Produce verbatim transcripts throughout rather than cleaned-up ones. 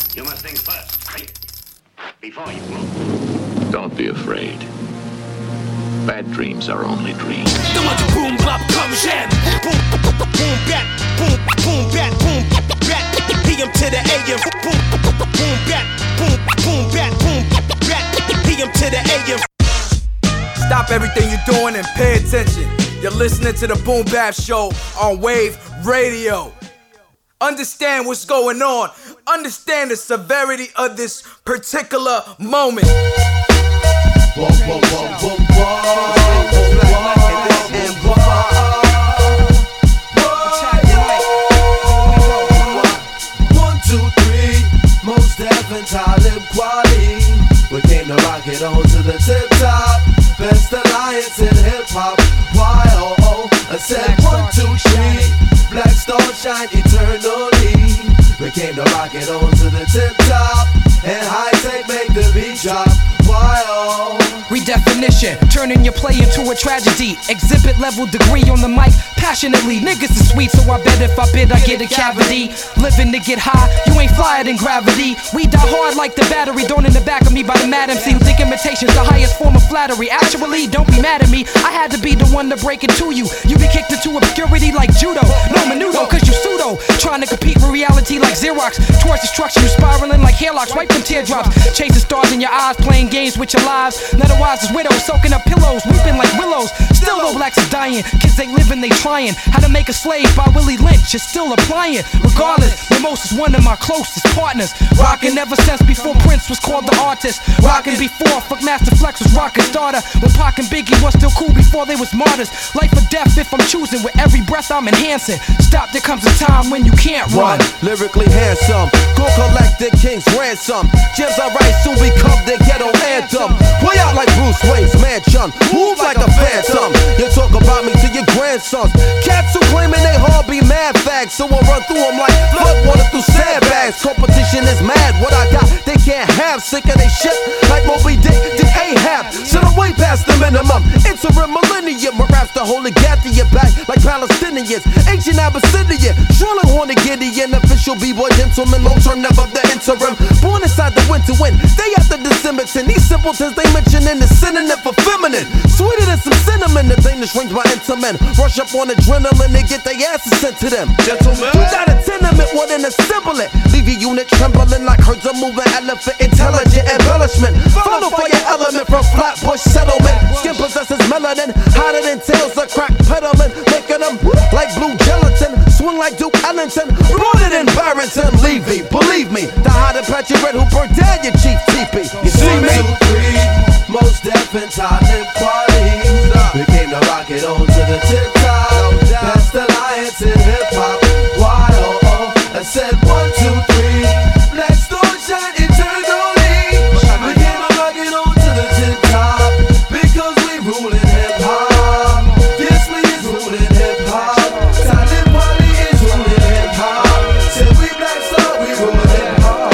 You must think first, right? Before you move. Don't be afraid. Bad dreams are only dreams. The one to boom bop come jam. Boom boom bat boom boom bat boom bat. P M to the A M. Boom boom bat boom boom bat boom bat. P M to the A M. Stop everything you're doing and pay attention. You're listening to the Boom Bap Show on Wave Radio. Understand what's going on. Understand the severity of this particular moment. Whoa, whoa, whoa, whoa, whoa. And whoa. One, two, three. Most Def and Talib Kweli. We came to rock it on to the tip top. Best alliance in hip hop. Y O O. I said one, two, three. Black Star shine eternally. We came to rock it on to the tip top. And high tech make the beat drop. Y O Redefinition, turning your play into a tragedy. Exhibit level degree on the mic, passionately. Niggas is sweet, so I bet if I bid I get a cavity. Living to get high, you ain't flyer than gravity. We die hard like the battery thrown in the back of me by the Madam C, who think imitation's the highest form of flattery. Actually, don't be mad at me, I had to be the one to break it to you. You be kicked into obscurity like judo. No menudo, cause you pseudo. Trying to compete with reality like Xerox. Towards destruction, you spiraling like hairlocks. Wipe them teardrops, chasing stars in your eyes, playing games with your lives. Otherwise is widows, soaking up pillows, weeping like willows. Still though blacks is dying, kids ain't living, they trying. How to make a slave by Willie Lynch is still applying. Regardless, Mimosa's one of my closest partners. Rockin' ever since before Prince was called the artist. Rockin' before Fuck Master Flex was rockin' starter. When Pac and Biggie was still cool before they was martyrs. Life or death if I'm choosing, with every breath I'm enhancing. Stop, there comes a time when you can't run. Lyrically handsome, go collect the king's ransom. Gems I write soon become the ghetto anthem. Way out like Bruce Wayne's mansion, move like a phantom. You talk about me to your grandsons. Cats who claiming they hard be mad fags, so I run through them like flood water through sandbags. Competition is mad, what I got they can't have. Sick of they shit like Moby Dick did Ahab. So I'm way past the minimum. Interim millennium, my raps the whole gat to your back like Palestinians. Ancient Abyssinian, Charlotte Horner Gideon, official b-boy gentleman, long term never the interim. Born inside the winter wind, day after December. These simpletons they mention in the synonym for feminine. Sweeter than some cinnamon, the thing that shrinks my intimate. Rush up on adrenaline and get their asses sent to them. Gentlemen, you got a tenement, one in a symbol it. Leave your unit trembling like herds of moving elephant. Intelligent embellishment. Follow for your element from Flatbush settlement. Skin possesses melanin, hotter than tails of crack peddling. Making them like blue gelatin. Swing like Duke Ellington. Rooted in Barrington. Levy, believe me. The hot and patchy red who burned down your chief teepee. You see me? One, two, three. Most Def and Talib Kweli. We came to rock it on to the tip top. Best alliance in hip hop. Y O O. I said one, two, three. Black Star shine eternally. We came to rock it on to the tip top because we rulin' hip hop. This we is rulin' hip hop. Talib Kweli is rulin' hip hop. Said we Black Star, we rulin' hip hop.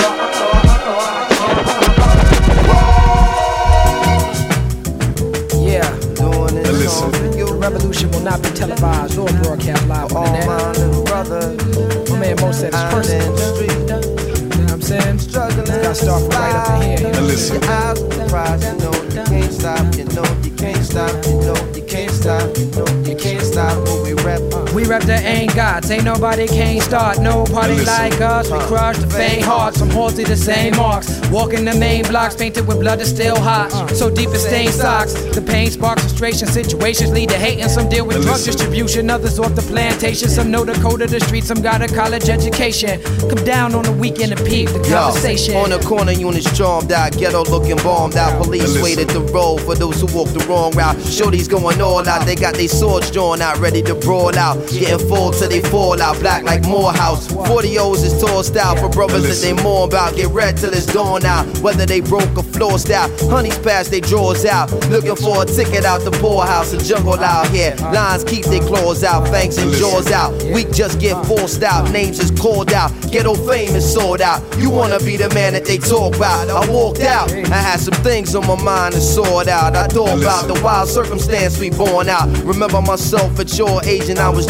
Yeah, doing it. Listen. The revolution will not be televised or broadcast live on the net. My man Mo said it's personal. You know what I'm saying? Struggling. Gotta start from right up in here. You know? Listen. Your eyes will cry, you know you can't stop, you know you can't stop, you know you can't stop, you know you can't stop when we rap. We rap the ain't gods, ain't nobody can't start no party like us. We crush the faint hearts, some halsey the same marks. Walking the main blocks, painted with blood that's still hot. So deep it stained socks. The pain sparks frustration, situations lead to hate, and some deal with drug distribution. Others off the plantation, some know the code of the street, some got a college education. Come down on the weekend and peep the conversation. Yo, on the corner, units stormed out, ghetto looking bombed out. Police waited the road for those who walk the wrong route. Shorty's going all out, they got their swords drawn out, ready to brawl out. Getting full till they fall out, black like Morehouse. forty O's is tossed out for brothers that they mourn about. Get red till it's dawn out, whether they broke or flossed out. Honeys pass they drawers out, looking for a ticket out the poorhouse. A jungle out here, lions keep their claws out, fangs and jaws out. We just get forced out, names is called out. Ghetto fame is sold out. You wanna be the man that they talk about. I walked out, I had some things on my mind to sort out. I thought about the wild circumstance we born out. Remember myself at your age and I was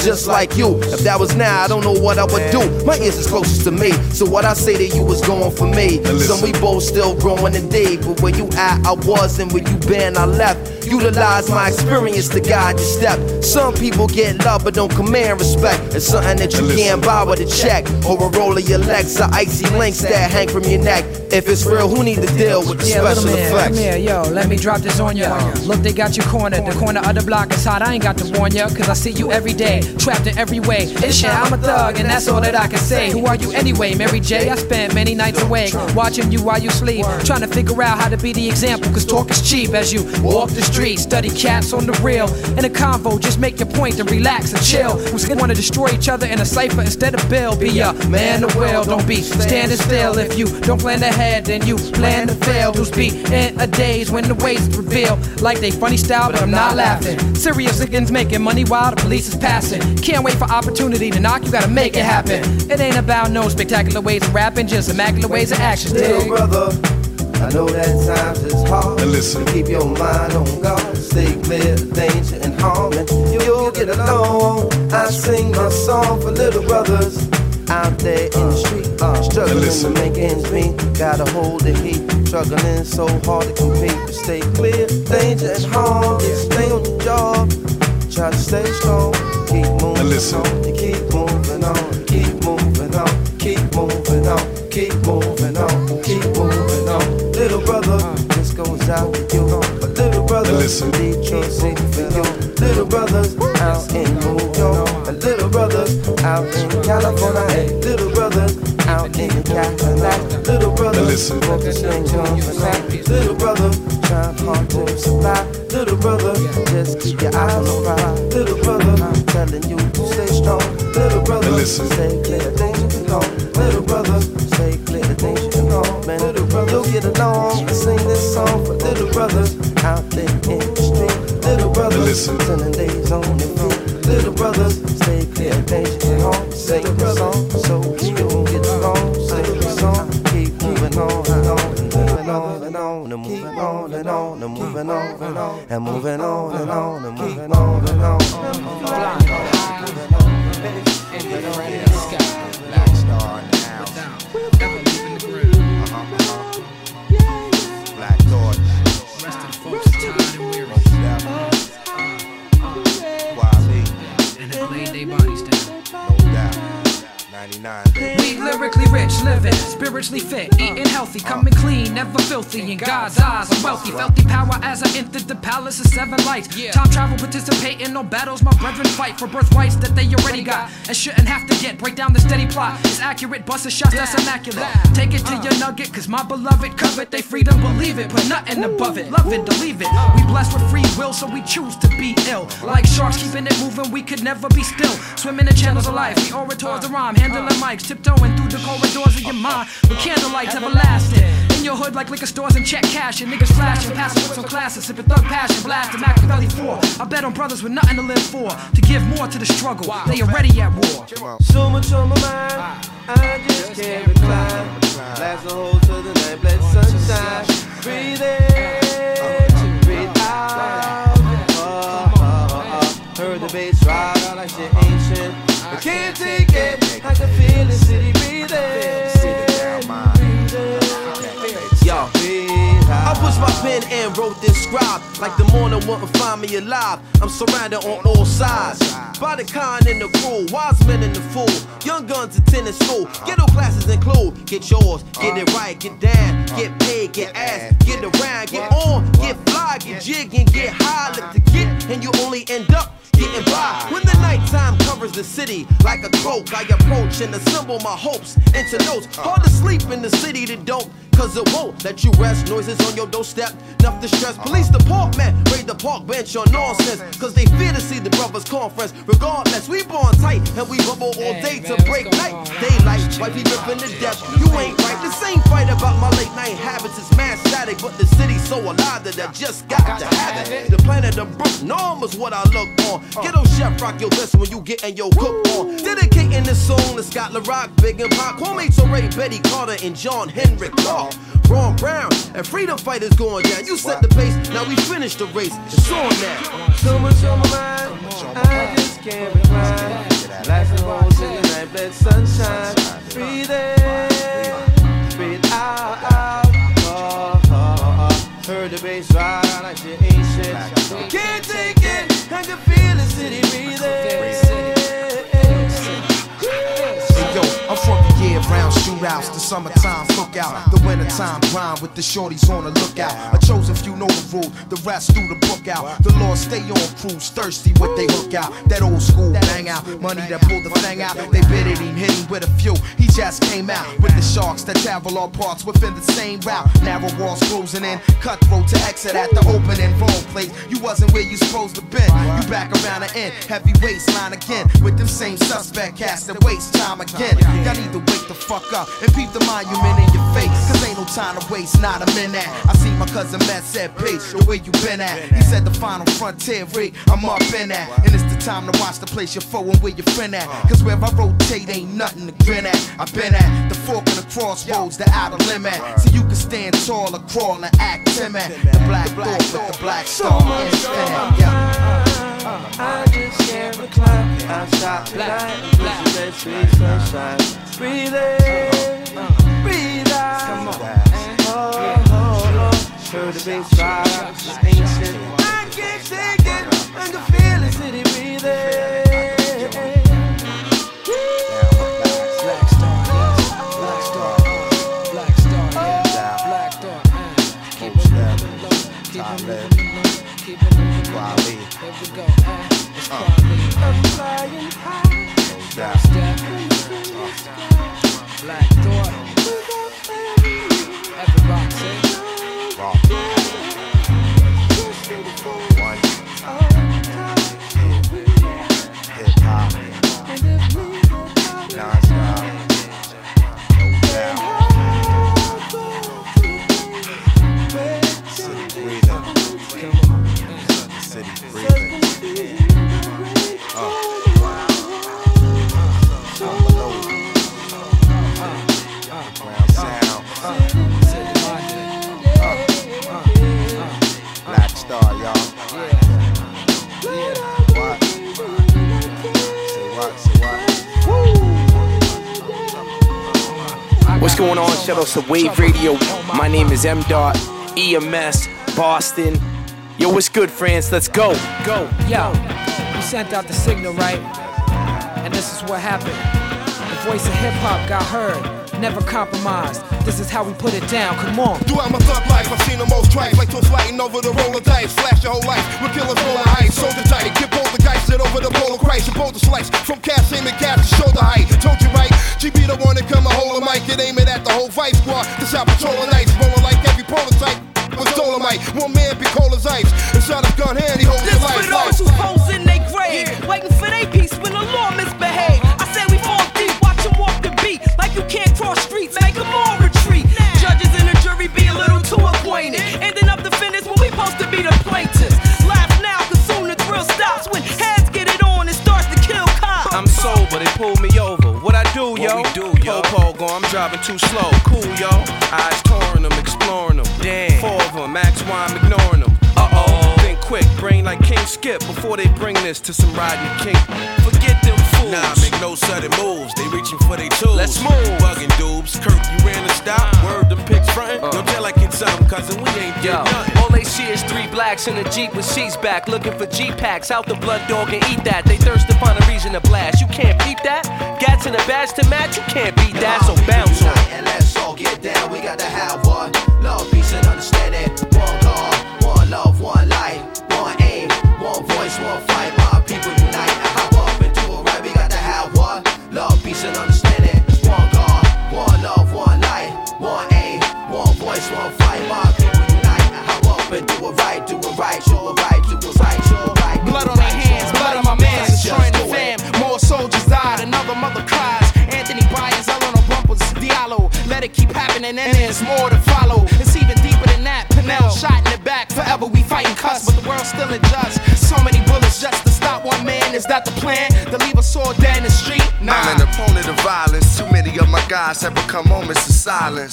just like you. If that was now, I don't know what I would do. My ears is closest to me, so what I say to you is going for me. Some we both still growing today, but where you at, I was, and where you been, I left. Utilize my experience to guide your step. Some people get love but don't command respect. It's something that you can't buy with a check, or a roll of your legs, or icy links that hang from your neck. If it's real, who need to deal with the yeah, special man, effects? Come here, yo, let me drop this on ya. Look, they got you cornered. The corner of the block is hot. I ain't got to warn ya, cause I see you every day, trapped in every way. It's shit, I'm a thug, and that's all that I can say. Who are you anyway, Mary J? I spent many nights awake, watching you while you sleep, trying to figure out how to be the example, cause talk is cheap. As you walk the street, study cats on the real. In a convo, just make your point and relax and chill. Who's gonna wanna destroy each other in a cipher instead of Bill? Be a man of will, don't be standing still. If you don't plan ahead, then you plan to fail. Dudes be in a daze when the ways reveal like they funny style, but I'm not laughing. Serious niggas making money while the police is passing. Can't wait for opportunity to knock, you gotta make it happen. It ain't about no spectacular ways of rapping, just immaculate ways of action. Little brother, I know that times is hard. And listen. Keep your mind on God, stay clear of danger and harm, and you'll get along. I sing my song for little brothers out there in the street, uh, struggling to make ends meet. Gotta hold the heat, struggling so hard to compete. But stay clear, danger and harm. Just stay on the job, try to stay strong. Keep moving on, you keep moving on, keep moving on, keep moving on, keep moving on, keep moving on. Little brother, this goes out to you. But little brothers in Detroit, sing for you. Little brothers out in New York, and little brothers out in California, hey, little brothers out in the Cadillac, little brothers focusing on the night, little brother trying hard to survive, little brother just keep your eyes on the prize, little brother I'm telling you to stay strong, little brother stay clear of danger and harm, little brother stay clear of danger and harm, man, little brother you'll get along and sing this song for little brothers out there in the street, little brothers spending days on their feet, little brothers stay clear of danger and harm, sing the song so you don't get along, sing the song, keep moving on and on and moving on and on and moving on and on and moving on and on and moving on and on and moving on and on. Flying high in the rainy sky, black star in the house, never leaving the ground. Uh-huh, uh-huh. Black Thought, Rest of the folks are tired and weary, Wale, and have laid their bodies down. no doubt, ninety-nine, baby. We lyrically rich, living, spiritually fit, eating healthy, coming clean, never filthy. In God's eyes, I'm wealthy. Felt the power as I entered the palace of seven lights. Time travel, participating, no battles. My brethren fight for birthrights that they already got and shouldn't have to get. Break down the steady plot. It's accurate, bust a shot that's immaculate. Take it to your nugget, cause my beloved covet they freedom, believe it, put nothing above it. Love it, believe it. We blessed with free will, so we choose to be ill. Like sharks keeping it moving, we could never be still. Swimming in channels of life, we orators the rhyme, handling mics, tiptoeing through the corridors of your mind with candlelights everlasting. In your hood like liquor stores and check cash and niggas flashing, passing with some classes, sipping thug passion, blasting Machiavelli four. I bet on brothers with nothing to live for, to give more to the struggle. They already at war. So much on my mind, I just can't recline. Blast a hole to the night, let sunshine. Breathe in, breathe out. Uh, uh, uh, heard the bass ride out like shit ancient. I can't take it, I can feel the city breathing. Yo, I pushed my pen and wrote this scribe. Like the morning wouldn't find me alive. I'm surrounded on all sides by the kind and the cruel, wise men and the fool. Young guns attending school. Ghetto classes include get yours, get it right, get down, get paid, get ass, get around, get on, get fly, get jig and get high. Look to get and you only end up getting by. When the nighttime covers the city like a cloak, I approach and assemble my hopes into notes. Hard to sleep in the city that don't, cause it won't let you rest. Noises on your doorstep, enough to stress. Police department, raid the park bench on nonsense, cause they fear to see the brothers conference. Regardless, we born tight and we bubble all day to break night. Daylight, wifey ripping to death. You ain't right. The same fight about my late night habits is mad static, but the city's so alive that I just got to have it. The planet of Brook Norm is what I look on. Ghetto chef rock your best when you getting your cook on. Dedicating this song to Scott LaRock, Big and Pop, Kwame Ture, Betty Carter, and John Henrik Clark. Ron Brown and freedom fighters going down. You set the pace, now we finish the race. It's on now. So much on my mind, I just can't recline. Life and rolls in the night, let sunshine. Breathe in, breathe out, out. Oh, oh, oh. Heard the bass ride out like shit ain't shit. Can't take it, I can feel the city breathing. Yo, I'm from the year-round shootouts, the summertime cookout, the wintertime grind with the shorties on the lookout. A chosen few know the rule, the rest do the book out. The Lord stay on cruise, thirsty what they hook out. That old school bang out, money that pull the thing out. They bid it, him, hit him with a few. He just came out with the sharks that travel all parts within the same route. Narrow walls closing in, cutthroat to exit at the opening. Wrong place, you wasn't where you supposed to been. You back around the end, heavy waistline again with them same suspect cast that waste time again. Y'all need to wake the fuck up and peep the monument in your face, cause ain't no time to waste, not a minute. I see my cousin Matt said, Page, where you been at? He said the final frontier rate, I'm up in that. And it's the time to watch the place you're foe and where your friend at. Cause where I rotate ain't nothing to grin at. I've been at the fork of the crossroads, the outer limit. So you can stand tall or crawl and act timid. The black thought with the black star infinite, yeah. I just can't recline outside tonight. Push that sweet sunshine. Breathe in, breathe out. Come on. Oh, oh, oh. Heard the bass ride out, it's ancient. I can't take it, I can feel the city breathing. Black Star, Black Star, Black Star, yeah. Black Star, keep it moving low, keep it moving low, keep it moving low. Here we go, it's Quali. I'm flying high. Black Step, Black Thought. Everybody say Rock. One. Hip hop. Non-stop. No doubt. City breathing. City breathing. Uh. Ground sound. Black Star, y'all. What? Say what? Say what? What's going on? Shout out to Wave Radio. My name is M Dot, E M S, Boston. Yo, what's good, friends? Let's go. Go. Yo, you sent out the signal, right? And this is what happened. The voice of hip-hop got heard, never compromised. This is how we put it down, come on. Throughout my thug life, I've seen the most tracks, like toast lighting over the roller dice. Flash your whole life, with killers rolling heights. Soldier tight, get both the guys, sit over the polar Christ. You both the slice, from cast aim and cast to shoulder height. Told you right, G B the one that come and hold a mic and aim it at the whole vice squad. This out patrolling nights, rolling like every prototype. Was Dolomite, one man be cold as ice. Inside his gun hand, he holds his life. This for those who pose in they grave, yeah. Waiting for they peace when the law misbehave. I say we fall deep, watch them walk the beat. Like you can't cross streets, make them all retreat. Judges and the jury be a little too acquainted. Ending up defendants when we supposed to be the plaintiffs. Laugh now, cause soon the thrill stops. When heads get it on, it starts to kill cops. I'm sober, they pulled me over. What I do, yo? What we do, yo? Po-po go, I'm driving too slow. Cool, yo. Eyes touring them, exploring them. Damn. Four of them, max why I'm ignoring them. Uh-oh. Think quick, brain like King Skip before they bring this to some riding king. Forget them fools. Nah, make no sudden moves. They reaching for they tools. Let's move. Bugging dubes. Kirk, you ran the stop. Word them pics frontin'. Uh. Don't tell like it's something, cousin. We ain't Yo, did nothing. all they see is three blacks in a Jeep with seats back, looking for G-packs. Out the blood dog and eat that. They thirst to find a reason to blast. You can't peep that. Gats in a badge to match. You can't beat that. So bounce on. And let's all get down. We got to have one love, peace, and understanding. One God, one love, one life, one aim, one voice, one fight. My people unite and hop up and do it right. We got to have one love, peace, and understanding. One God, one love, one life, one aim, one voice, one fight. My people unite and hop up and do it right, do it right, show it right, do it right, show it right. Blood on their hands, blood on my mans, destroying the fam. More soldiers died, another mother cries. Anthony Bryan's all on the bumpers, Diallo. Let it keep happening and there's more to follow. It's even deeper than that. Pinel shot in the back, forever we fighting cuss, but the world's still unjust. So many bullets just to stop one man. Is that the plan? To leave us all dead in the street? Nah. I'm an opponent of violence. Too many of my guys have become moments of silence.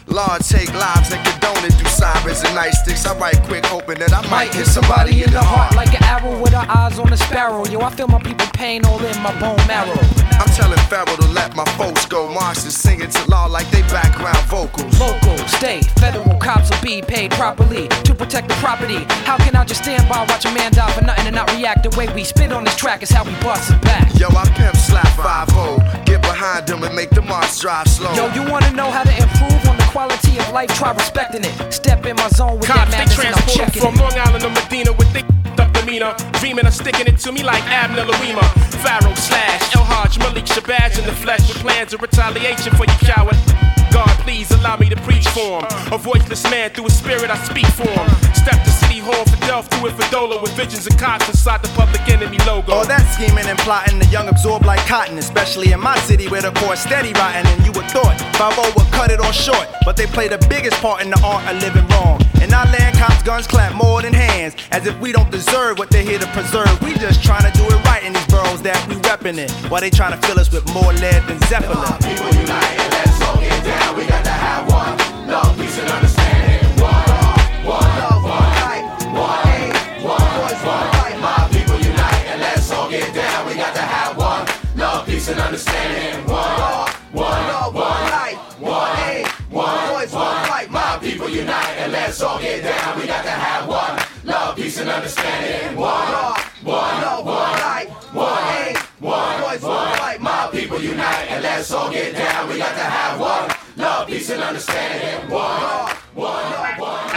Lord, take lives and condone it through sirens and nightsticks. I write quick, hoping that I might hit somebody in the heart. Like an arrow with her eyes on a sparrow. Yo, I feel my people pain all in my bone marrow. I'm telling Pharaoh to let my folks go. Martians singing to law like they background vocals. Local, state, federal cops will be paid properly to protect the property. How can I just stand by, watch a man die for nothing and not react? The way we spit on this track is how we bust it back. Yo, I pimp slap five oh. Get behind them and make the march drive slow. Yo, you wanna know how to improve on the quality of life? Try respecting it. Step in my zone with Cops, that madness and I'm checking from it. Long Island to Medina with thick up demeanor, dreaming of sticking it to me like Abner Louima. Pharaoh slash El Hajj Malik Shabazz in the flesh with plans of retaliation for you coward. God, please allow me to preach for him. A voiceless man, through a spirit I speak for him. Step to City Hall for Delph, through it for Dola with visions of cops inside the Public Enemy logo. All that scheming and plotting, the young absorb like cotton, especially in my city where the core steady rotting. And you would thought five oh would cut it all short, but they play the biggest part in the art of living wrong. In our land, cops' guns clap more than hands, as if we don't deserve what they're here to preserve. We just trying to do it right in these boroughs that we reppin' it, while they trying to fill us with more lead than Zeppelin. People unite and let's all get down. We got to have one love, peace, and understanding. One, one, love, one, light, one, one, voice, one fight. My people unite and let's all get down. We got to have one love, peace, and understanding. One, one, love, one, light, one, one, voice, one fight. My people unite and let's all get down. We got to have one love, peace, and understanding. One, one, love, one, light, one, one, voice, one fight. My people unite and let's all get down. We got to have one love, peace, and understanding. One, one, love, one.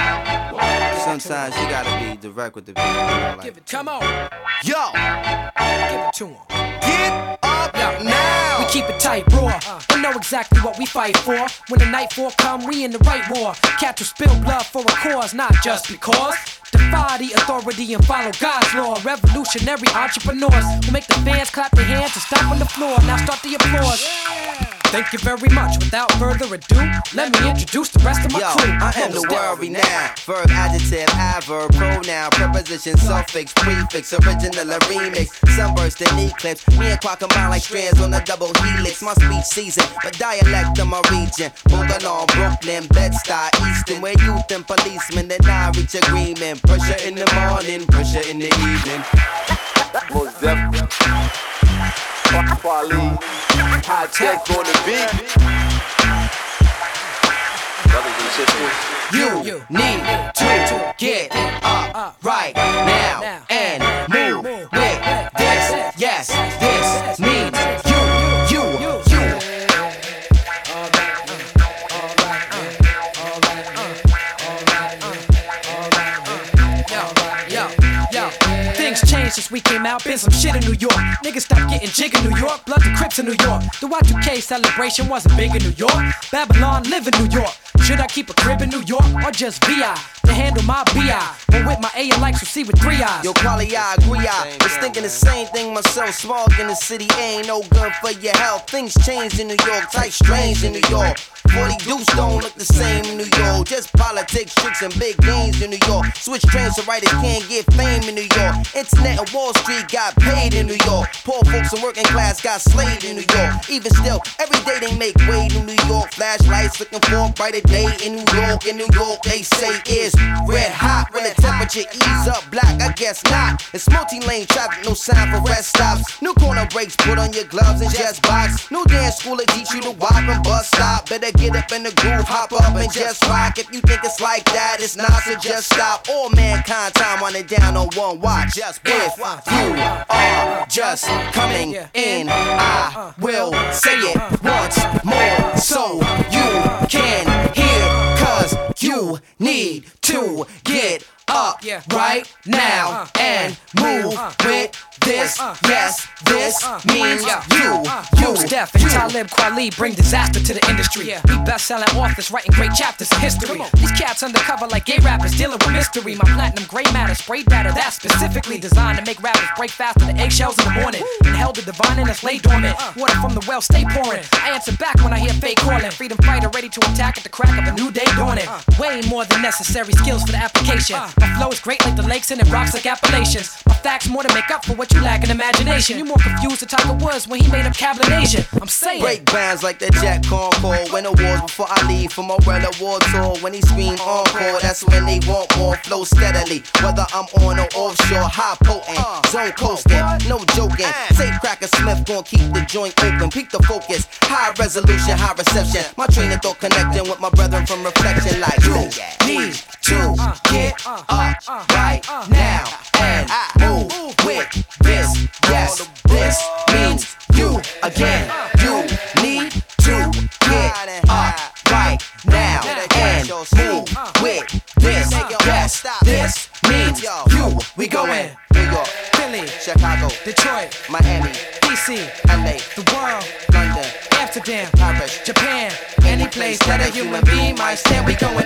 Sometimes you gotta be direct with the people. You know, like, Give it, come on. Yo, give it to him. Get up Yo, now. We keep it tight, raw. We know exactly what we fight for. When the nightfall come, we in the right war. Catch will spill blood for a cause, not just because. Defy the authority and follow God's law. Revolutionary entrepreneurs who make the fans clap their hands and stomp on the floor. Now start the applause. Thank you very much. Without further ado, let me introduce the rest of my Yo, crew. I am the world renowned. Verb, adjective, adverb, pronoun, preposition, suffix, prefix, original or remix. Sunburst and eclipse. Me and Quack combine like strands on a double helix. My speech season, but dialect of my region. Boogalong, Brooklyn, Bed-Stuy, Easton, where youth and policemen and I reach agreement. Pressure in the morning, pressure in the evening. Most definitely. Quality, high tech on the beat. Brothers and sisters, you need to get up right now and move with this. Yes, this means you, you, you. Things changed since we came out, been some shit in New York. Niggas stopped getting jig in New York, blood the Crips in New York. The Y two K celebration wasn't big in New York. Babylon live in New York. Should I keep a crib in New York or just V I to handle my B I? But with my A, I like to see with three eyes. Yo, quality, I agree. I was thinking the same thing myself. Smog in the city ain't no good for your health. Things changed in New York, tight strange in New York. forty deuce don't look the same in New York. Just politics, tricks, and big games in New York. Switch trains so writers can't get fame in New York. Internet and Wall Street got paid in New York. Poor folks and working class got slayed in New York. Even still, every day they make way in New York. Flashlights looking for a brighter day in New York. In New York, they say is red hot. When the temperature ease up black, I guess not. It's multi-lane traffic, no sign for rest stops. New corner breaks, put on your gloves and just box. New dance school that teach you to walk and bus stop. Better get up in the groove, hop up and just rock. If you think it's like that, it's not, so just stop. All mankind time running down on one watch. Just if you are just coming in, I will say it once more so you can hear. Cause you need to get up right now and move with this. Yes, this means you. You, Steph and Talib Kweli bring disaster to the industry. We best-selling authors writing great chapters of history. These cats undercover like gay rappers dealing with mystery. My platinum gray matter spray data that's specifically designed to make rappers break faster than eggshells in the morning. And held the divine in us lay dormant. Water from the well stay pouring. I answer back when I hear fake calling. Freedom fighter ready to attack at the crack of a new day dawning. Way more than necessary skills for the application. My flow is great like the lakes and it rocks like Appalachians. My facts more to make up for what you You lacking imagination. You more confused than Tiger Woods when he made up Cablination. I'm saying. Break bounds like that Jack Concord. Win awards before I leave for my World Award tour. When he scream encore, that's when they want more. Flow steadily, whether I'm on or offshore. High potent, zone coasting, no joking. Safe Cracker Smith gon' keep the joint open. Peak the focus, high resolution, high reception. My train of thought connecting with my brethren from reflection. Like you need to get up right now and move with this. Yes, this means you again. You need to get up right now and move with this. Yes, this means you. We going New York, Philly, Chicago, Detroit, Miami, D C, L A, the world, London, Amsterdam, Paris, Japan, any place that a human being might stand. We going.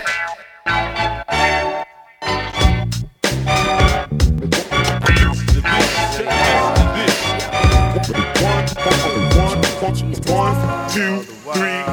One, two, three,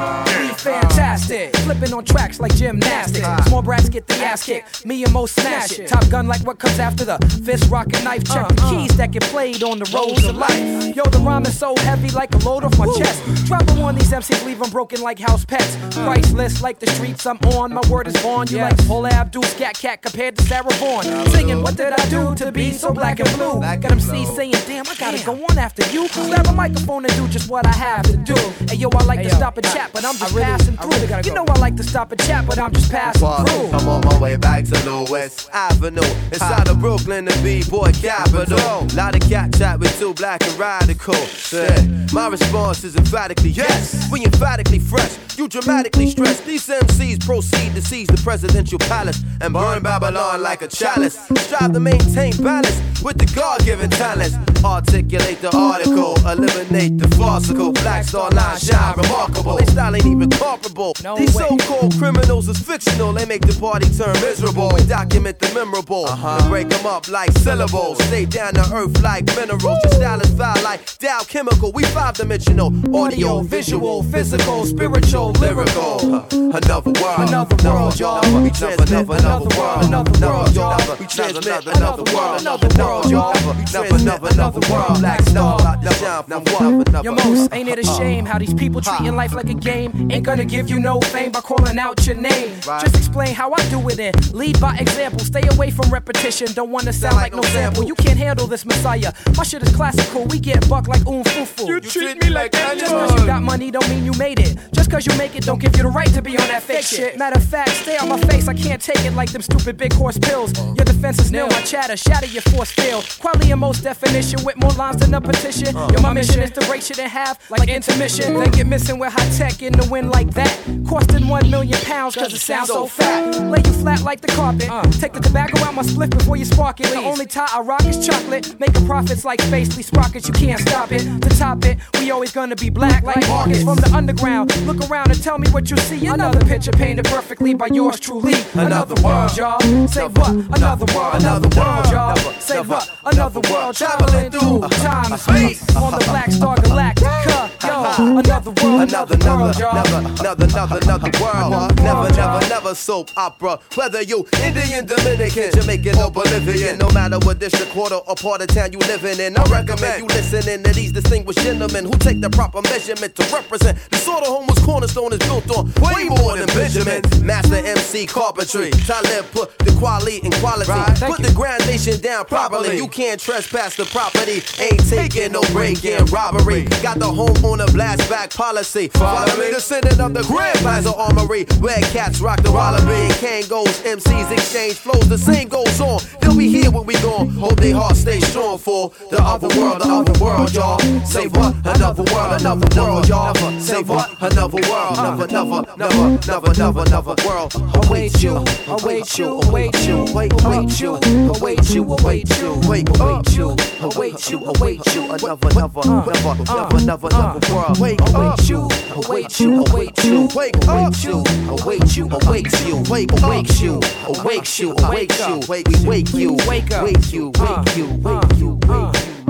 fantastic. Flipping on tracks like gymnastics. Small brats get the ass kicked. Me and Mo smash it. Top Gun like what comes after the fist, rock, and knife. Check the keys that get played on the roads of life. Yo, the rhyme is so heavy like a load off my chest. Drop them on these M Cs, leave them broken like house pets. Priceless like the streets I'm on. My word is born. You like Paula Abdul, Scat Cat compared to Sarah Vaughan. Singing, what did I do to be so black and blue? Got M Cs saying, damn, I gotta go on after you. Grab a microphone and do just what I have to do. Hey yo, I like hey, to yo, stop and chat, but I'm just really, passing through. Really you know I like to stop and chat, but I'm just passing well, through. I'm on my way back to Lewis Avenue, inside of Brooklyn, the B-boy capital. Lot of cat chat with two black and radical. Yeah. My response is emphatically yes. We emphatically fresh. You dramatically stress. These M Cs proceed to seize the presidential palace and burn Babylon like a chalice. Strive to maintain balance with the God-given talents. Articulate the article, eliminate the farcical. Black Star Line shine remarkable. They style ain't even comparable. No These way. so-called criminals is fictional. They make the party turn miserable. We document the memorable uh-huh. and break them up like syllables. Stay down to earth like minerals. Woo. Your style is foul like Dow Chemical. We five-dimensional. Audio, visual, physical, spiritual, lyrical. Uh, another world, another world, y'all. We transmit another world, another world, y'all. We transmit another world, another world, y'all. We transmit another world. Black Star, shine from one. Yo, Most, ain't it a shame how these people treating life like a game? Ain't gonna give you no fame by calling out your name. Just explain how I do it and lead by example. Stay away from repetition. Don't wanna sound like no sample. You can't handle this Messiah. My shit is classical. We get buck like oom fufu. You treat me like that. Just cause you got money don't mean you made it. Just cause you make it don't give you the right to be on that fake shit. Matter of fact, stay on my face. I can't take it like them stupid big horse pills. Your defense is nil. My chatter, shatter your force field. Quality and most definition with more lines than a petition. Yo, my mission is to break shit in half like intermission. Then get missing with high tech in the wind like that. Costing one million pounds cause it sounds so fat. Lay you flat like the carpet. Take the tobacco out my split before you spark it. The only tie I rock is chocolate. Making profits like Spacely Sprockets. You can't stop it. To top it, we always gonna be black like Marcus from the underground. Look around and tell me what you see. Another picture painted perfectly by yours truly. Another world, y'all. Say what? Another world. Another world, y'all. Say what? Another world. Traveling through time and space on the Black Star Galactica. Yo, another world. Another, another, another, another, another, another world. Never, never, never soap opera. Whether you Indian, Dominican, Jamaican, or Bolivian, no matter what district, quarter, or part of town you living in, I recommend you listening to these distinguished gentlemen who take the proper measurement to represent the sort of home whose cornerstone is built on way more than Benjamin. Master M C carpentry. Talib put the quality in quality. Right. Put the groundation down properly. You can't trespass the property. Ain't taking no break-in robbery. Got the home on a blast back policy. Follow me. Descendant of the Grand Plaza Armory, where cats rock the wallaby. Kangos, M Cs exchange flows. The same goes on. They'll be here when we gone. Hope they hearts stay strong for the other world, the other world, y'all. Say what? Another world, another world, y'all. Say what? Another world, another, another, another, another, another, another world. Await you, await you, await you, wait, await you, await you, await you, wait, await you, await you, await you, another, another, another, another, another, another world. Wait, await you, await you, await you, wait, await you, await you, await you, wait, await you, await you, await you, wait, we wake you, wake you, wake you, wake you, wake you.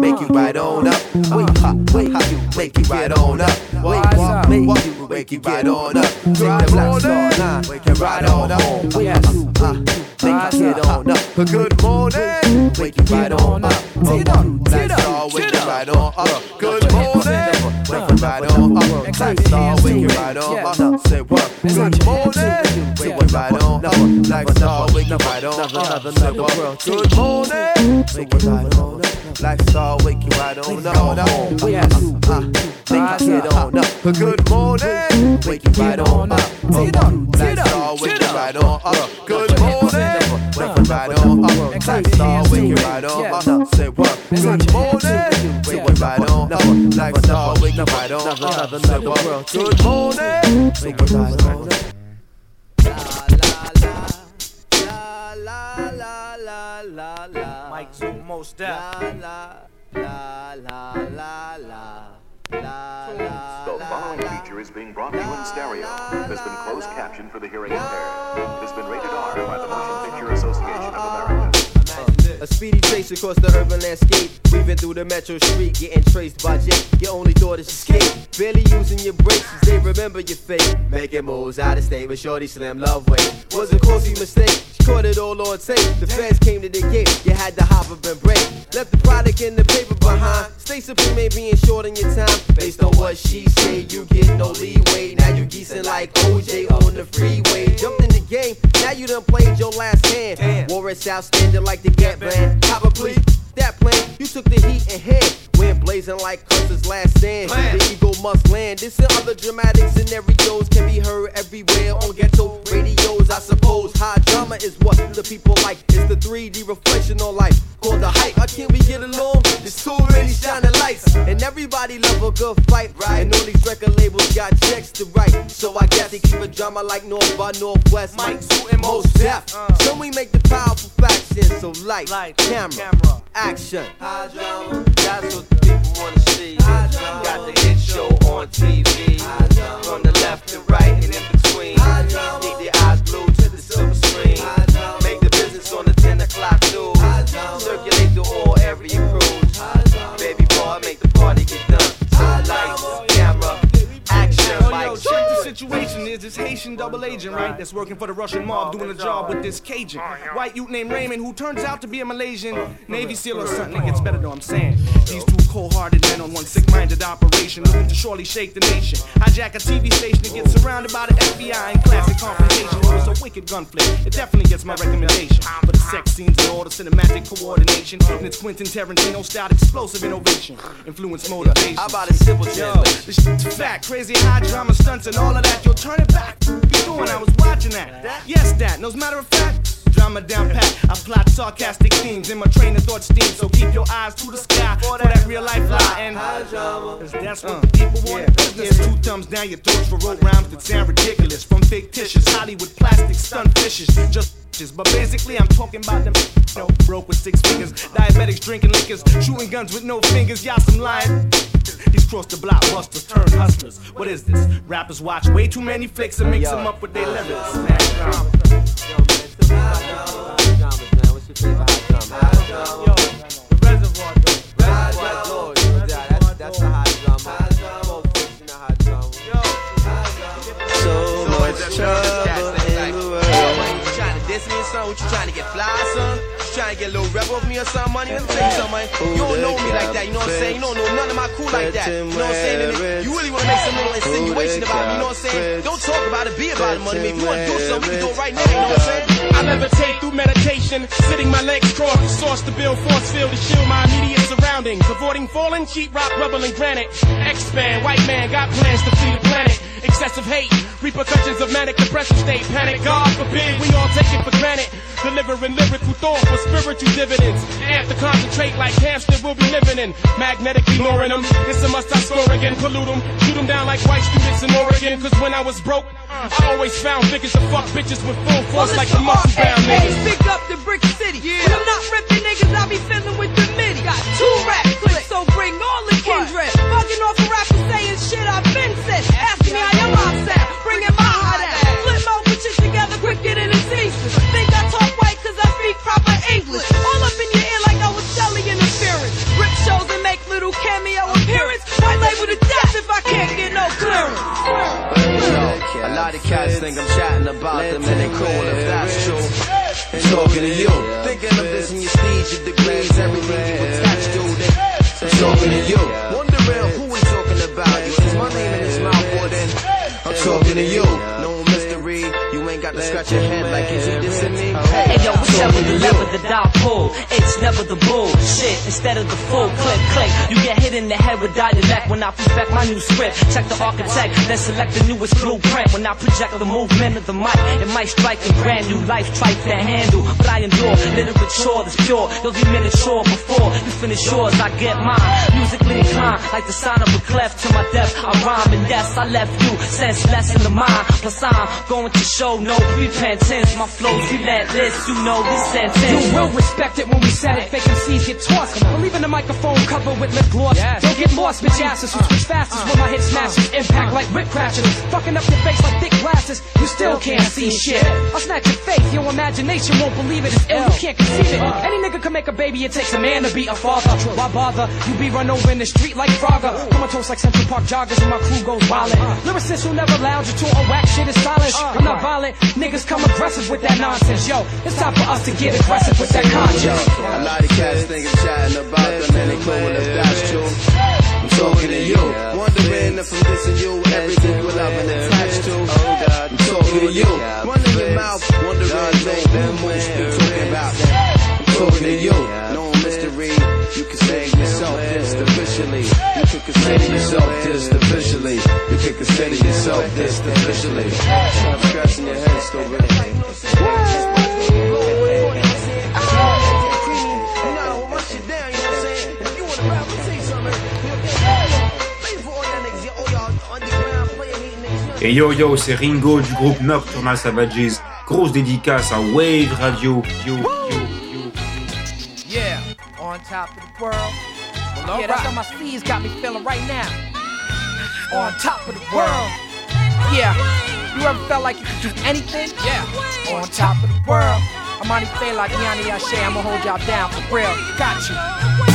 make you right on up. Wake up, wake up, make you right on up. Wake up, make you wake you right on up. Take the black star line, wake you right on up. Wake up, make you get on up. Good morning, wake you right on up. Take the black star, wake you right on up. Good morning, wake you right on up. Black star, wake you right on up. Say what? Good morning, wake you right on up. Black star, wake you right on up. Say what? Good morning, wake you right on up. Black star, wake you right on up. Yes, make you get on up. Good morning, wake you right on up. Black star, wake you right on up. Good morning, wake you right on up. Black star, wake you right on up. Say what? Good morning, wake you right on up. Black star, wake you right on up. Say what? Good morning, wake you right on up. Mike Zoom, most def. The following feature is being brought to you in stereo. It has been closed captioned for the hearing impaired. It has been rated R by the Motion Picture Association of America. A speedy chase across the urban landscape, weaving through the metro street, getting traced by Jake. Your only thought is escape, barely using your brakes, they remember your fate. Making moves out of state with Shorty Slim Love Way. Was a costly mistake, she caught it all on tape. The fans came to the gate, you had to hop up and break. Left the product in the paper behind. Stay supreme ain't being short on your time. Based on what she say, you get no leeway. Now you geesing like O J on the freeway. Jumped in the game, now you done played your last hand. Warrants outstanding like the Gap Band. Cop a plea, that plan, you took the heat in hand. Went blazing like Custer's last stand. Plan. The eagle must land. This and other dramatic scenarios can be heard everywhere on ghetto radios, I suppose. High drama is what the people like. It's the three D reflection on life called the hype. How can we get along? There's too many shining lights, and everybody love a good fight, right? And all these record labels got checks to write, so I guess they keep a drama like North by Northwest. Mike Zoo and Most Def. Uh. So we make the powerful faction. So light, light camera, camera, action. High drama, that's what the people wanna see. Got the hit show on T V. From the left to right and in between. Keep your eyes glued to the silver screen. Make the business on the ten o'clock news. Circulate through all area crews. Baby boy, make the party get done. So lights, camera, action. Yo, check the situation. Is this Haitian double agent, right? That's working for the Russian mob, doing a job with this Cajun white youth named Raymond, who turns out to be a Malaysian Navy SEAL or something. It gets better though, I'm saying. These two cold-hearted men on one sick-minded operation, looking to surely shake the nation. Hijack a T V station and get surrounded by the F B I in classic confrontation. It was a wicked gun flick. It definitely gets my recommendation. For the sex scenes and all the cinematic coordination, and it's Quentin Tarantino-style explosive innovation, influence motivation. How about a simple translation? This shit's fact, crazy high drama stunts and all of that. Yo, turn it back. What you doing? I was watching that. Yes, that. No, as a matter of fact, drama down pat. I plot sarcastic themes in my train of thought steam. So keep your eyes to the sky for that real life lie. And cause that's what uh, the people want. Yeah. There's two thumbs down your throats for road rhymes that sound ridiculous. From fictitious Hollywood plastic stunt fishes. Just but basically I'm talking about them you know, broke with six fingers, diabetics drinking liquors, shooting guns with no fingers, y'all some lying. These cross the block busters turn hustlers. What is this? Rappers watch way too many flicks and mix them up with their lyrics. Yo, man, what's your favorite high drama? Yo, the Reservoir, though. Reservoir, that's, that's the high drama. Most fiction, the high drama. So much trouble in the world. Diss me or something? What you trying to get fly, son? You trying to get a little rebel off me or something, money? Let me tell you something, you don't know me like that, you know what I'm saying? You don't know none of my crew like that, you know what I'm saying? You really want to make some little insinuation about me, you know what I'm saying? Don't talk about it, be about it, money. If you want to do something, we can do it right now, you know what I'm saying? I levitate through meditation, sitting my legs crossed, the source to build force field to shield my immediate surroundings, avoiding falling, sheet rock, rubble, and granite. Expand, white man got plans to flee the planet. Excessive hate, repercussions of manic depressive state. Panic, God forbid, we all take it for granted. Delivering lyrical thought for spiritual dividends. After concentrate like hamster we'll be living in. Magnetically luring them. This a must I score again, pollute them. Shoot them down like white students in Oregon. Cause when I was broke, I always found niggas to fuck bitches with full force well, like the muscle bound niggas. Speak up to Brick City. Yeah. When I'm not ripping niggas, I be fiddling with the midi. Got two rap clips, so bring all the kindred. Bugging off a rapper saying shit I've been said. Asking me how your mom sound, bringing my heart out. Flip my put shit together, quick get it in season. Think I talk white cause I speak proper English. All up in your ear like I was selling interference. Rip shows and lot of cats think I'm chatting about them and they cool if that's true. And talking to you, thinking of this in your speech, your degrees, everything you attached to. Then talking to you, wondering who we talking about. You is my name in his mouth, or then I'm talking to you. No mystery, you ain't got to scratch your head like is he dissing me? Hey yo, whichever the lever the dot pull, it's never the bullshit. Instead of the full click click, you get hit in the head with dialect when I perfect my new script. Check the architect, then select the newest blueprint. When I project the movement of the mic, it might strike a brand new life try to handle. But I endure literature that's pure. You'll be miniature before you finish yours. I get mine, musically inclined, like the sign of a clef to my depth. I rhyme and yes, I left you senseless in the mind. Plus I'm going to show no repentance. My flow's relentless, you know this sentence. You will respect it when we said it. Fake M Cs get tossed. Leaving the microphone covered with lip gloss. Yes. Don't get lost, bitch asses who switch fastest when my hit smashes. Impact like whip crashes. Fucking up your face like thick glasses. You still can't see shit. I'll snatch your face. Your imagination won't believe it. It's ill. You can't conceive it. Any nigga can make a baby. It takes a man to be a father. Why bother? You be run over in the street like Frogger. Comatose like Central Park joggers when my crew goes violent. Lyricists who never lounge you to a whack shit is silent. I'm not violent. Niggas come aggressive with that nonsense. Yo, it's time for us to get aggressive with that conscience. A lot of cats think I'm chatting about them and they cool if that's true. I'm talking to you, wondering if I'm dissing you, everything you love and attached to. I'm talking to you, running your mouth, wondering if who you talking about. I'm talking to you, no mystery. You can say yourself this officially. You can consider yourself this officially. You can consider yourself this officially. I'm scratching your head still, really. Et yo yo, c'est Ringo du groupe Nocturnal Savages. Grosse dédicace à Wave Radio. Yo, yo, yo. Yeah, on top of the world. Well, yeah, that's how my sleeves got me feeling right now. On top of the world. Yeah, you ever felt like you could do anything? Yeah, on top of the world. Amani Fela, Gianni Ashe, I'ma hold y'all down for real. Got you.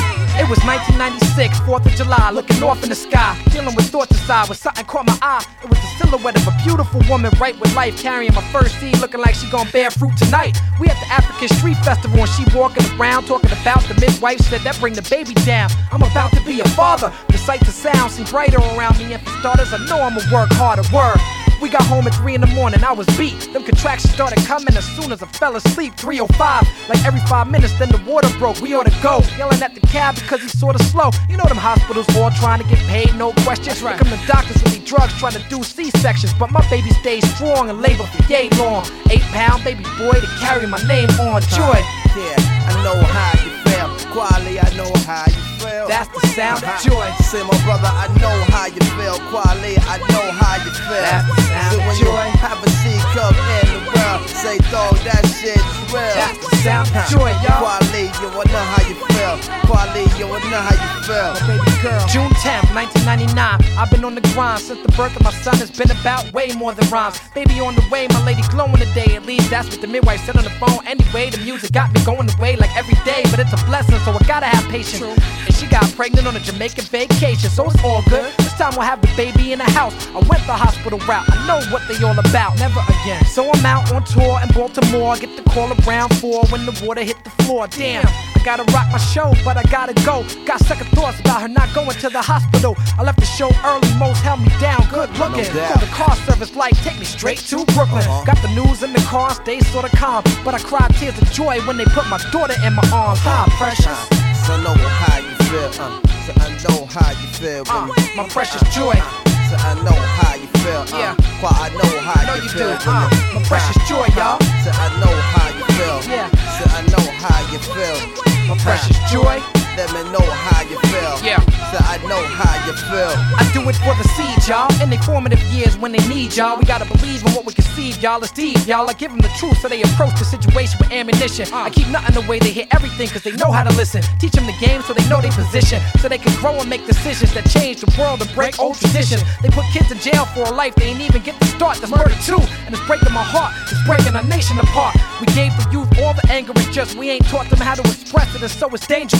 It was nineteen ninety-six, fourth of July, looking off in the sky, dealing with thoughts inside, when something caught my eye. It was the silhouette of a beautiful woman, right with life, carrying my first seed, looking like she gon' bear fruit tonight. We at the African Street Festival, and she walking around, talking about the midwife, said that bring the baby down. I'm about to be a father. The sights and sounds seem brighter around me, and for starters, I know I'ma work harder. Word. We got home at three in the morning, I was beat. Them contractions started coming as soon as I fell asleep. three oh five, like every five minutes, then the water broke. We ought to go, yelling at the cab because he's sorta slow. You know them hospitals all trying to get paid, no questions. Right. Here come the doctors with these drugs trying to do C-sections. But my baby stayed strong and labor for yay long. Eight pound baby boy to carry my name on. Joy. Yeah, I know how you feel. Quality, I know how you feel. That's the sound of joy. Say my brother, I know how you feel. Quality, I know how you feel. That's the sound so of when joy. You have a C cup in the world, say dog, that shit's real. That's the sound of joy, y'all. Quality, you wanna know how you feel. Quality, you wanna know how you feel. My baby girl. June tenth, nineteen ninety-nine. I've been on the grind since the birth of my son. It's been about way more than rhymes. Baby on the way, my lady glowing today. At least that's what the midwife said on the phone. Anyway, the music got me going away like every day, but it's a blessing, so I gotta have patience. True. And she got pregnant on a Jamaican vacation, so it's all good. This time we'll have the baby in the house. I went the hospital route. I know what they all about. Never again. So I'm out on tour in Baltimore. I get the call around four when the water hit the floor. Damn, I gotta rock my show, but I gotta go. Got second thoughts about her not going to the hospital. I left the show early, most held me down. Good looking. No Called the car service like, take me straight to Brooklyn. Uh-huh. Got the news in the car, stayed sorta calm, but I cried tears of joy when they put my daughter in my arms. Hi, precious. So I know how you feel. Uh, so I know how you feel. Uh, my precious joy. So I know how you feel. Uh, yeah. Quite I know how know you, you feel. do. Uh, my precious joy, y'all. So I know how you feel. Yeah. So I know how you feel. My precious joy. Let me know how you feel. Yeah. So I know how you feel. I do it for the seed, y'all. In their formative years when they need y'all. We gotta believe in what we conceive, y'all. It's deep, y'all. I give them the truth so they approach the situation with ammunition. I keep nothing away, they hear everything cause they know how to listen. Teach them the game so they know their position. So they can grow and make decisions that change the world and break old traditions. They put kids in jail for a life they ain't even get to start. That's murder too, and it's breaking my heart. It's breaking our nation apart. We gave the youth all the anger, it's just we ain't taught them how to express it, and so it's dangerous. You can't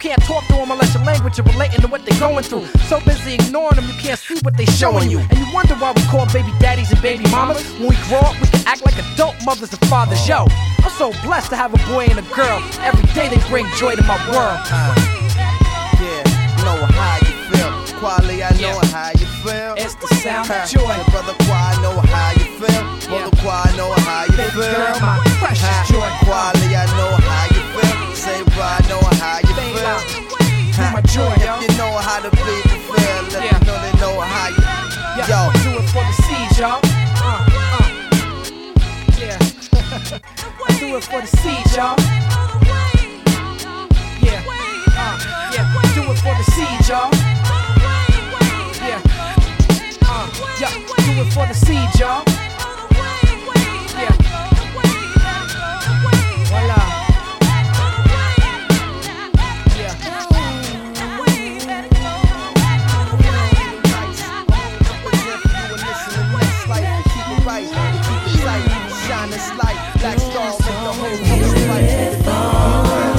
can't talk to them unless your language is relating to what they're going through. So busy ignoring them, you can't see what they showing you. And you wonder why we call baby daddies and baby mamas. When we grow up, we can act like adult mothers and fathers. Yo, I'm so blessed to have a boy and a girl. Every day they bring joy to my world. Uh, yeah, know how you feel. Quali, I know yeah. how you feel. It's the sound of joy. Hey, brother Quali, I know how you feel. Brother yeah. Quali, I know how you baby feel. Girl, my precious joy. Quali, I know how you feel. Say, bro, I know how you baby, feel. Ha. My joy, if yo. you know how the people feel, let yeah. me know they know how you. Yeah. Yo, do it for the seeds, y'all. Uh, uh. Yeah. I do it for the seeds, y'all. Yeah. Uh, yeah. Do it for the seeds, y'all. Yeah. Uh, yeah. Do it for the seeds, y'all. Yeah. Voila. Yeah. Shine this light, black star with the whole house right.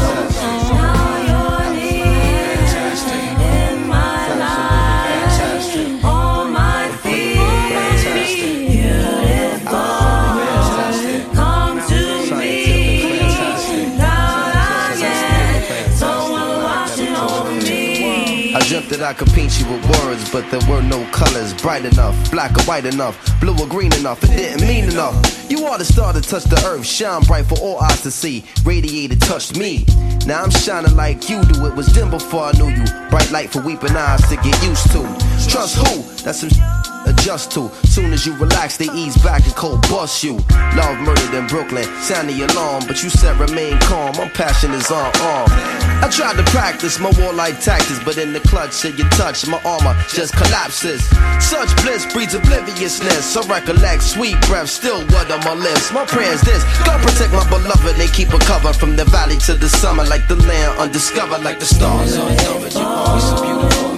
That I could paint you with words, but there were no colors bright enough, black or white enough, blue or green enough. It didn't mean enough. You are the star that touched the earth, shine bright for all eyes to see. Radiated, touched me. Now I'm shining like you do. It was dim before I knew you. Bright light for weeping eyes to get used to. Trust who? That's some adjust to. Soon as you relax, they ease back and cold bust you. Love murdered in Brooklyn, sound the alarm, but you said remain calm. My passion is on arm. I tried to practice my warlike tactics, but in the clutch of your touch, my armor just collapses. Such bliss breeds obliviousness. So recollect sweet breath, still wet on my lips. My prayer's this: God protect my beloved. They keep her covered from the valley to the summer, like the land undiscovered, like the stars unknown. You are so beautiful.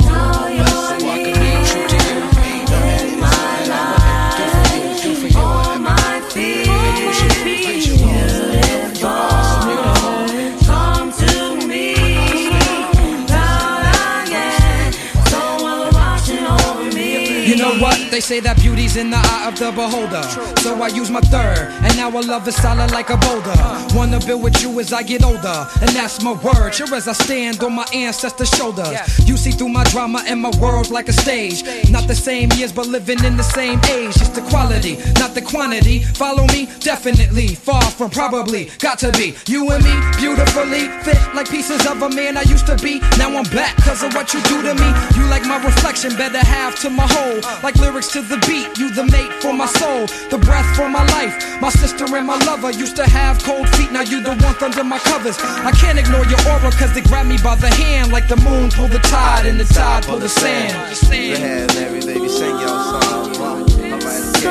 They say that beauty's in the eye of the beholder. So I use my third, and now our love is solid like a boulder. Wanna build with you as I get older, and that's my word. Sure as I stand on my ancestors' shoulders. You see through my drama and my world like a stage. Not the same years, but living in the same age. It's the quality, not the quantity. Follow me? Definitely. Far from probably. Got to be. You and me, beautifully fit like pieces of a man I used to be. Now I'm back cause of what you do to me. You like my reflection, better have to my whole. Like lyrics to the beat, you the mate for my soul, the breath for my life. My sister and my lover used to have cold feet, now you the one under my covers. I can't ignore your aura cause they grab me by the hand, like the moon pull the tide and the tide pull the sand. Go ahead, every baby, sing your song. Alright,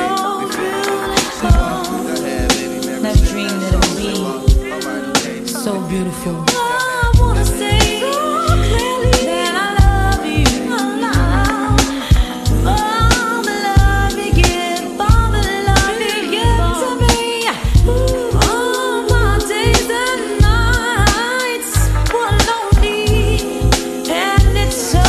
that dream that it'll be so beautiful. I wanna say that I love you. All the love you give, all the love you give to me. All my days and nights were lonely, and it's so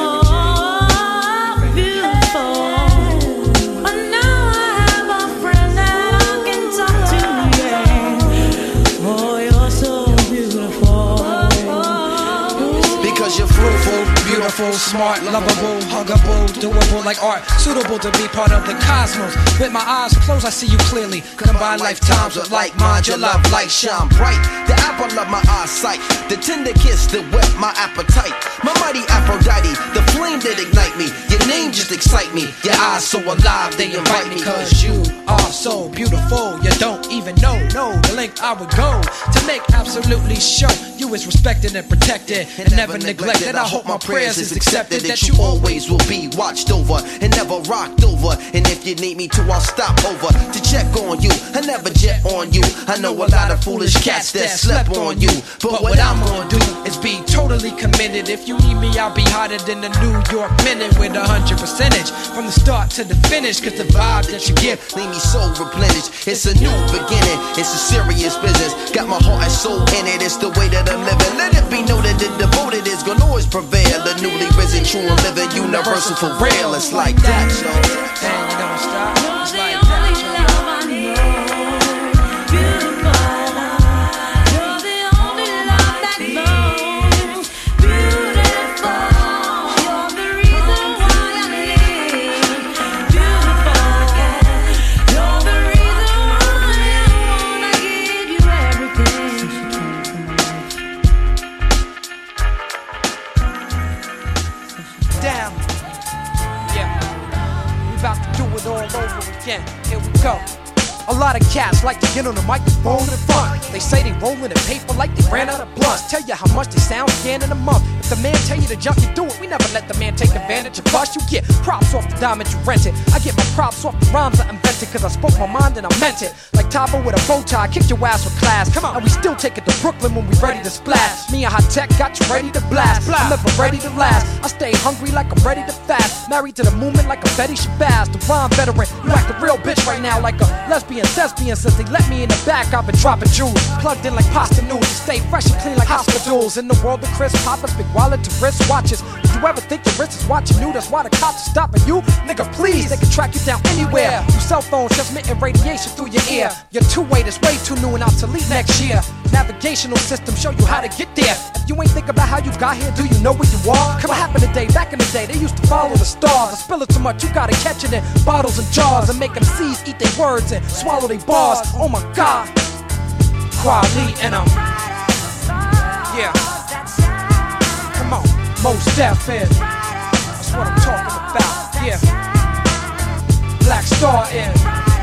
beautiful. But now I have a friend that I can talk to, yeah. Oh, you're so beautiful. Because you're fruitful, beautiful, smart, lovable, huggable, doable like art, suitable to be part of the cosmos. With my eyes closed, I see you clearly. Combine lifetimes with like mind, your love light shine bright. The apple of my eyesight, the tender kiss that whet my appetite. My mighty Aphrodite, the flame that ignite me. Your name just excite me. Your eyes so alive, they invite me. Cause you are so beautiful, you don't even know, know the length I would go to make absolutely sure you is respected and protected and, and never neglected. I hope my prayers is accepted, that you always will be watched over and never rocked over. And if you need me to, I'll stop over to check on you. I never jet on you. I know a lot of foolish cats that slept on you, but what I'm gonna do is be totally committed. If you need me, I'll be hotter than the New York Minute with a hundred percentage from the start to the finish. Cause the vibe that you give leave me so replenish. It's a new beginning, it's a serious business. Got my heart and soul in it, it's the way that I'm living. Let it be noted that devoted is gonna always prevail. The newly risen, true and living, universal for real. It's like that, yo. And you don't stop. It's like that, again, here we go. A lot of cats like to get on the microphone in front. They say they rollin' in paper like they ran out of blunts. Tell you how much they sound again in a month. If the man tell you to jump, you do it. We never let the man take advantage of us. You get props off the diamond you rented. I get my props off the rhymes I invented, cause I spoke my mind and I meant it. Like Tabo with a bow tie, kicked your ass with class. Come on, and we still take it to Brooklyn when we ready to splash. Me and High Tech got you ready to blast. I'm never ready to last. I stay hungry like I'm ready to fast. Married to the movement like a Betty Shabazz. The rhyme veteran, you act a real bitch right now like a lesbian thespian. Since they let me in the back, I've been dropping jewels. Plugged in like pasta noodles. Stay fresh and clean like hospitals. In the world of Chris Poppers, big wallet to wrist watches. Did you ever think your wrist is watching you? That's why the cops are stopping you. Nigga, please, they can track you down anywhere. Your cell phones transmitting radiation through your ear. Your two-way is way too new and obsolete next year. Navigational system show you how to get there. If you ain't think about how you got here, do you know where you are? Come what happened today? Back in the day, they used to follow the stars. I spill it too much, you gotta catch it in bottles and jars and make them C's eat their words and swallow their bars. Oh my God, Quali and I'm yeah. Come on, Mos Def is. That's what I'm talking about. Yeah. Black Star is.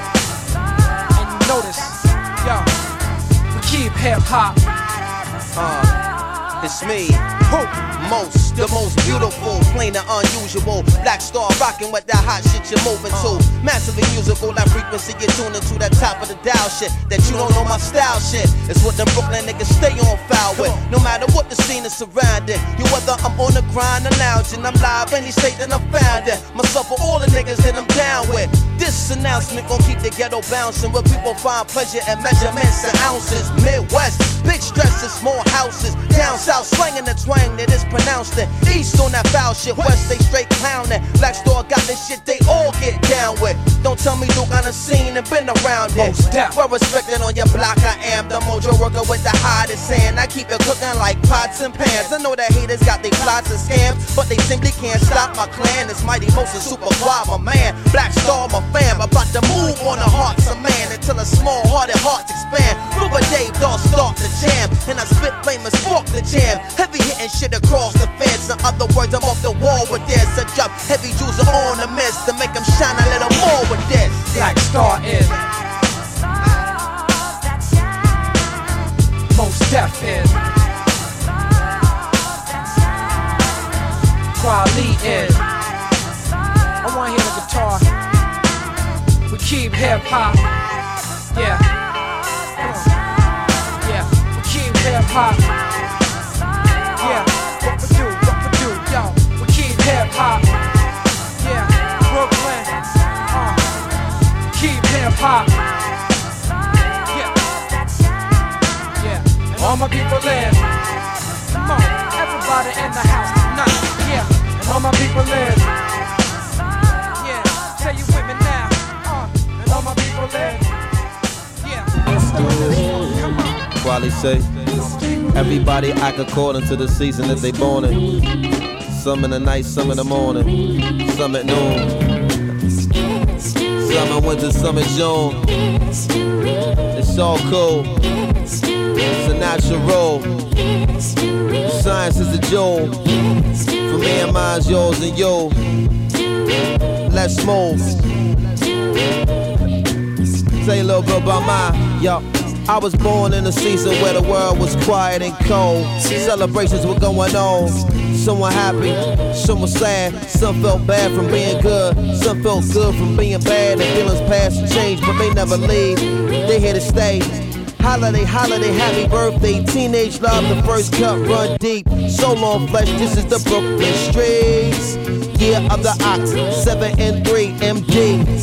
And you notice, yo, we keep hip hop. Uh, it's me, who? Most, the most beautiful, plain and unusual. Black Star rocking with that hot shit you're moving to. Massively musical, that frequency you're tuning to. That top of the dial shit, that you don't know my style shit. It's what them Brooklyn niggas stay on foul with. No matter what the scene is surrounding. You whether I'm on the grind or lounging, I'm live any state that I'm found in. Myself for all the niggas that I'm down with. This announcement gon' keep the ghetto bouncing, where people find pleasure in measurements and ounces. Midwest, big stresses, small houses. Down south, slanging the twang that is pronounced it. East on that foul shit, west they straight clowning. Black Star got this shit they all get down with. Don't tell me you got a scene and been around it. Well respected on your block, I am the mojo worker with the hottest hand. I keep it cooking like pots and pans. I know that haters got their plots and scams, but they simply can't stop my clan. It's Mighty Most and Super Quad, my man. Black Star, my fam, about to move on the hearts of man until a small-hearted hearts expand. Ruber Dave, dog, start the jam, and I spit flame and spark the jam. Heavy hitting shit across the fence. In other words, I'm off the wall with this. I drop heavy jewels on the mist to make them shine a little more with this. Black Star is. Mos Def is. Quali is. I wanna hear the guitar. We keep hip hop. Yeah. Yeah. We keep hip hop. Yeah. What we do, what we do, yo. We keep hip hop. Yeah. Brooklyn. Uh. Keep hip hop. Yeah. Yeah. And all my people live. Come on, everybody in the house tonight. Yeah. And all my people live. Yeah. Say you with me now. Uh. And all my people live. Yeah. Let's do this. Come on. Quali say, everybody I could call into the season that they born in. Some in the night, some in the morning, some at noon. Some in winter, some in June. It's all cool. It's a natural. Science is the jewel. For me and mine's yours and you. Let's move. Tell you a little bit about mine, yo. I was born in a season where the world was quiet and cold. Celebrations were going on. Some were happy, some were sad. Some felt bad from being good. Some felt good from being bad. And feelings pass and change, but they never leave. They here to stay. Holiday, holiday, happy birthday. Teenage love, the first cup run deep. So long flesh, this is the Brooklyn streets. Year of the ox, seven and three M D.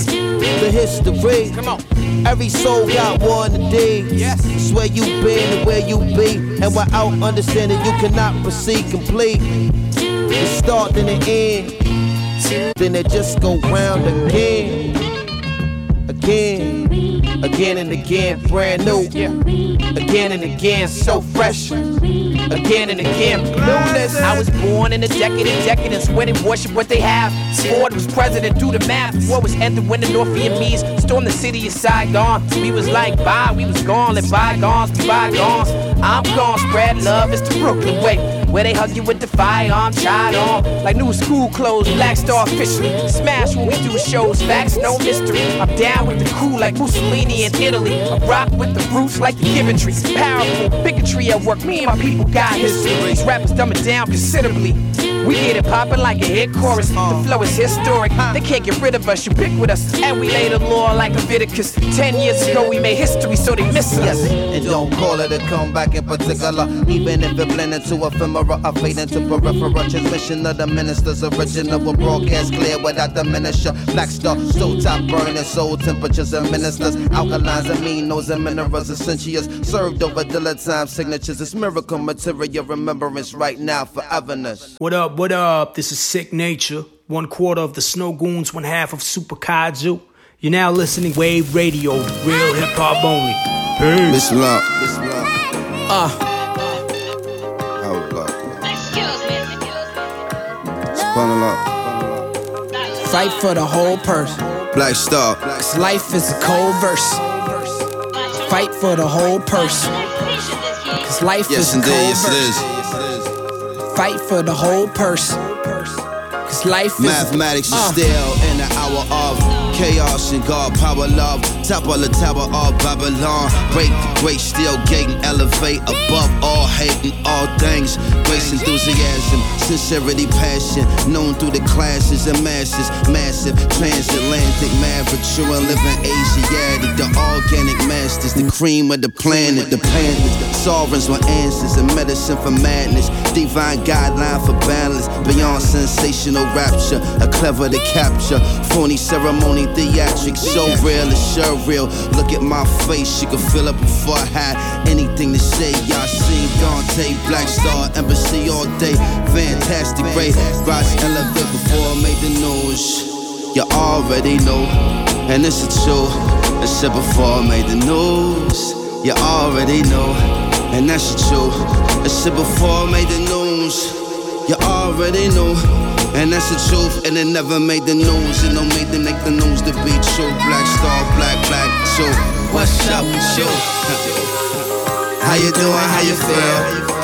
the history. Come on. Every soul got one today. Yes. It's where you been and where you be. And without understanding, you cannot proceed complete. It start then it end. Then it just go round again. Again. Again and again, brand new. Again and again, so fresh. Again and again, newness. I was born in a decade of decadence, when it worship what they have. Ford was president, do the math. War was ended when the North Vietnamese stormed the city of Saigon. We was like bye, we was gone, let bygones be bygones. I'm gone, spread love, it's the Brooklyn way, where they hug you with the firearm, tied on like new school clothes. Black Star officially smash when we do shows, facts, no mystery. I'm down with the crew like Mussolini in Italy. I rock with the roots like the Giventry. Powerful bigotry at work, me and my people got history. These rappers dumb it down considerably. We get it poppin' like a hit chorus. The flow is historic. They can't get rid of us, ubiquitous. And we lay the law like Leviticus. Ten years ago we made history, so they miss us. And don't call it a comeback in particular, even if it blend into ephemera, I fade into peripheral. Transmission of the minister's original will broadcast clear without diminisher. Black Star, still top burning, soul temperatures and ministers. Alkalines, aminos, and minerals, essentials. Served over dilettante signatures. It's miracle material, remembrance right now, foreverness. What up, what up? This is Sick Nature. One quarter of the Snow Goons, one half of Super Kaiju. You're now listening to Wave Radio, real hip hop only. Peace. Listen up. Listen up. Uh. Hold up. Spun up. Fight for the whole person. Black Star. Cause life is a cold verse. Fight for the whole person. Cause life Yes, is a indeed. cold Yes, it verse. is. Fight for the whole person. Cause life is Mathematics uh. is still in the hour of chaos and God power love. Top of the tower of Babylon. Break the great steel gate and elevate above all hate and all things. Grace, enthusiasm, sincerity, passion. Known through the classes and masses. Massive transatlantic maverick. True and living Asiatic. The organic masters. The cream of the planet. The planets. Sovereigns with answers and medicine for madness. Divine guideline for balance. Beyond sensational rapture. A clever to capture. Phony ceremony theatrics. So real, it's sure real. Look at my face, you can feel it before I had anything to say. Y'all seen Dante, Black Star, Embassy all day. Fantastic, great. Rise elevate before I made the news. You already know, and it's a truth. I said before I made the news. You already know, and that's the truth. I said before I made the news. You already know. And that's the truth, and it never made the news. It don't make the make the news to be true. Black Star, black, black, true. What's up with you? How you doing? How you feel?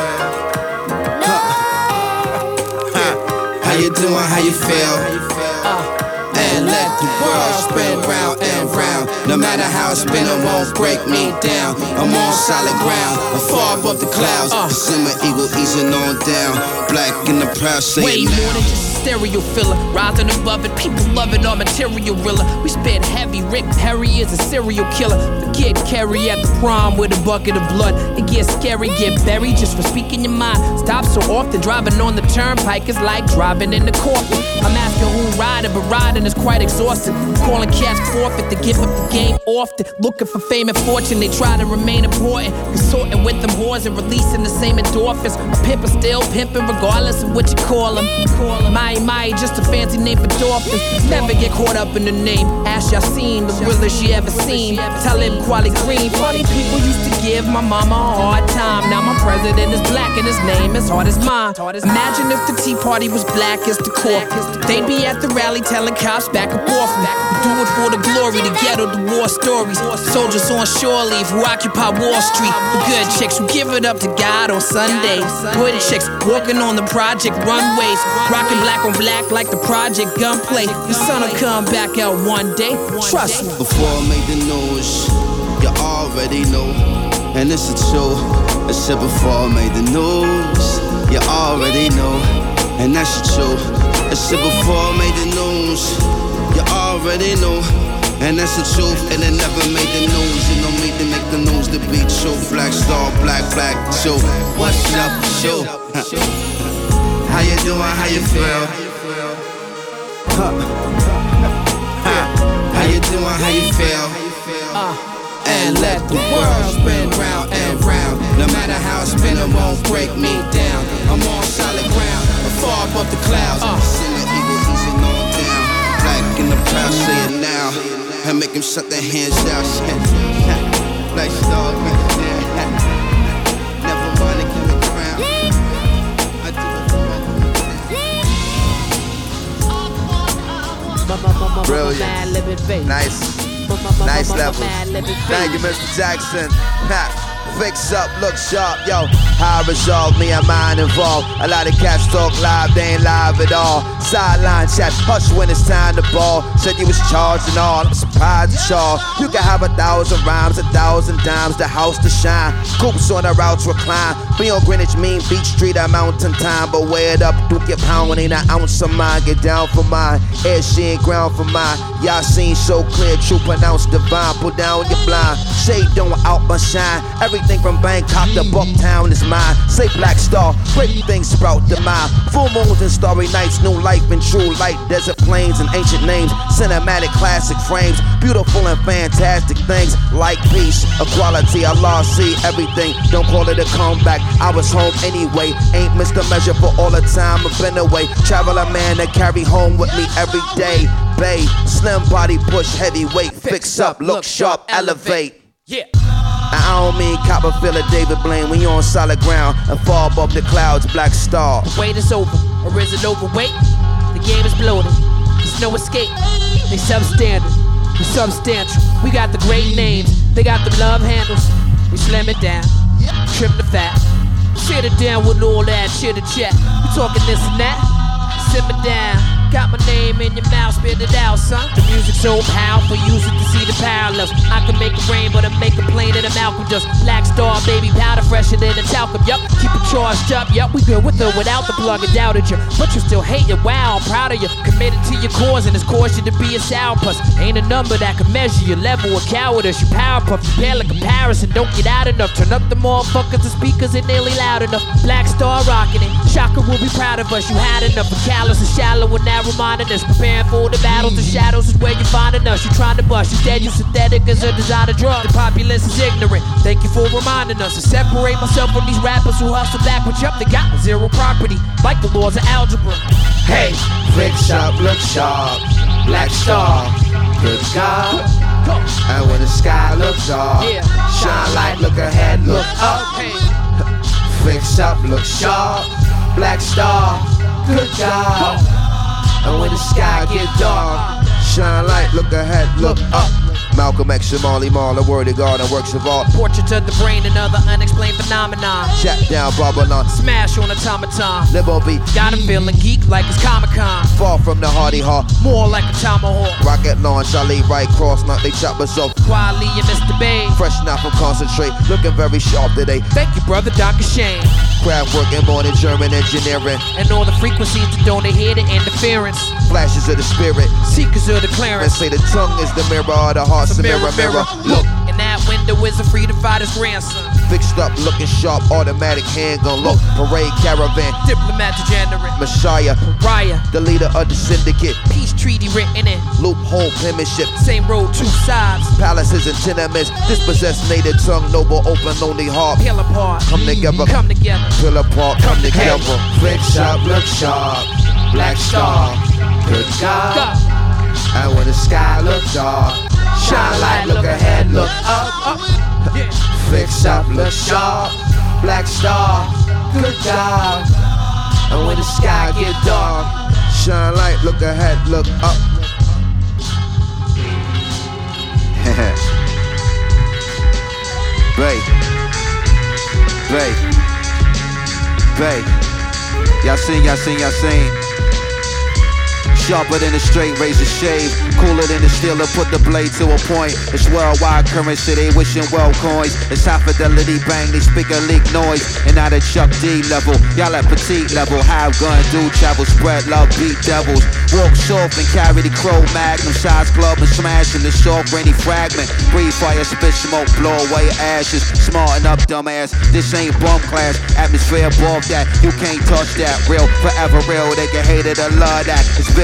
How you doing? How you feel? And let the world spin round and round. No matter how it's been, it won't break me down. I'm on solid ground, I'm far above the clouds. Uh. The simmer eagle easing on down. Black in the proud, say way it now. more than just a stereo filler. Rising above it, people love it, our material riller. We spit heavy, Rick Perry is a serial killer. Forget Kerry at the prom with a bucket of blood. It gets scary, get buried just for speaking your mind. Stop so often, driving on the turnpike is like driving in the coffin. I'm asking who riding, but riding is quite exhausting. Calling cats forfeit to give up the game often. Looking for fame and fortune, they try to remain important. Consorting with them whores and releasing the same endorphins. A pimp is still pimping regardless of what you call him. My my, just a fancy name for dolphins. Never get caught up in the name. Ash Yassine, the realest she ever seen. Talib Kweli Green. Funny people used to give my mama a hard time. Now my president is black and his name is hard as mine. Imagine if the Tea Party was black as the corp. They'd be at the rally telling cops back and forth. Do it for the glory, the ghetto, the war stories. Soldiers on shore leave who occupy Wall Street. The good chicks who give it up to God on Sundays. Good chicks walking on the project runways. Rocking black on black like the project gunplay. The sun'll come back out one day. Trust me. Before I made the news, you already know, and it's the truth. I said before I made the news, you already know, and that's the truth. I said before I made the news, you already know, and that's the truth. And it never made the news. It don't make to make the news to be true. Black Star, black, black, true. What's up, true? How you doing? How you feel? Huh. How you doing? How you feel? Uh, and let the world spin round and round. No matter how I spin, it won't break me down. I'm on solid ground, far above the clouds. Uh. Send the eagle easing on down. Black and the proud, say it now. And make them shut their hands out. Nice dog, man. Never mind, I give the crown. I do it. Brilliant. Nice. Nice level. Thank you, Mister Jackson. Ha. Fix up, look sharp, yo. How I resolve, me and mine involved. A lot of cats talk live, they ain't live at all. Sideline chat, hush when it's time to ball. Said you was charged and all, I'm surprised at y'all. You can have a thousand rhymes, a thousand dimes, the house to shine. Coops on the routes recline. Be on Greenwich, Mean Beach Street at Mountain Time. But wear it up, do get pound, ain't an ounce of mine. Get down for mine, air she ain't ground for mine. Y'all seen so clear, true pronounced divine. Put down your blind, shade don't out my shine. Everything from Bangkok to Bucktown is mine. Say Black Star, great things sprout the mind. Full moons and starry nights, new life and true light. Desert plains and ancient names, cinematic classic frames. Beautiful and fantastic things like peace, equality, Allah see everything. Don't call it a comeback, I was home anyway. Ain't missed a measure for all the time I've been away. Travel a man that carry home with me every day. Bay, slim body, push heavyweight. Fix up, look sharp, elevate. Yeah. I don't mean Copperfield or David Blaine. When you're on solid ground and far above the clouds, Black Star. The wait is over, or is it overweight? The game is bloated, there's no escape. They substandard, we substantial. We got the great names, they got the love handles. We slam it down, trim the fat. Sit it down with all that chitter chat. We talking this and that, simmer down. Got my name in your mouth, spit it out, son. The music's so powerful, use it to see the parallels. I can make it rain, but I make it plain that I'm Malcolm. Just Black Star, baby, powder fresher than a talcum. Yup, keep it charged up, yup, we good with or without the plug. I doubted you, but you still hate it. Wow, I'm proud of you. Committed to your cause, and it's caused you to be a sourpuss. Ain't a number that can measure your level of cowardice. You power puff, you pale in comparison. Don't get out enough. Turn up the motherfuckers, the speakers ain't nearly loud enough. Black Star rocking it. Shaka will be proud of us. You had enough of callous and shallow and now reminding us. Preparing for the battles, the shadows is where you finding us. You trying to bust, you dead, you synthetic as a designer drug. The populace is ignorant. Thank you for reminding us to separate myself from these rappers who hustle backwards. Up, they got zero property, like the laws of algebra. Hey, fix up, look sharp, Black Star, good God. And when the sky looks dark, yeah. Shine light, look ahead, look up. Hey. Fix up, look sharp, Black Star, good God. And when the sky get dark, shine light, look ahead, look up. Malcolm X, Marley Marl, a word of God and works of art. Portraits of the brain and other unexplained phenomena. Jack down Babylon, smash on automaton. Live on beat, got him feeling geek like it's Comic-Con. Far from the hardy heart, more like a tomahawk. Rocket launch, I leave right cross, not they chop us off. Quali and Mister Bay, fresh now from concentrate, looking very sharp today. Thank you, brother Doctor Shane. Craft work and born in German engineering. And all the frequencies that don't adhere to interference. Flashes of the spirit, seekers of the clearance. And say the tongue is the mirror of the heart's a mirror, mirror. Look, in that window is a freedom fighter's grandson. Fixed up, looking sharp, automatic handgun. Look, parade caravan, diplomat degenerate, Messiah, Raya, the leader of the syndicate. Peace treaty written in loophole penmanship. Same road, two sides. Palaces and tenements. Dispossessed native tongue, noble, open, lonely heart. Peel apart, come together, come together. Peel apart, come, come together. Hey, fix up, look sharp, Black Star, good God. God. And when the sky looks dark, shine light, look ahead, look up. up. Yeah. Fix up, look sharp, Black Star, good God. And when the sky get dark, shine light, look ahead, look up. Bay, Bay, Bay. Y'all sing, y'all sing, y'all sing. Sharper than a straight razor shave, cooler than the steeler, put the blade to a point. It's worldwide currency, they wishing well coins. It's high fidelity bang, they speak a leak noise. And not at Chuck D level, y'all at petite level. Have gun, do travel, spread love, beat devils. Walk soft and carry the crow magnum. Shots club and smashing the soft rainy fragment. Breathe fire, spit smoke, blow away ashes. Smarten up, dumbass, this ain't bum class. Atmosphere above that, you can't touch that. Real, forever real, they can hate it or love that. It's big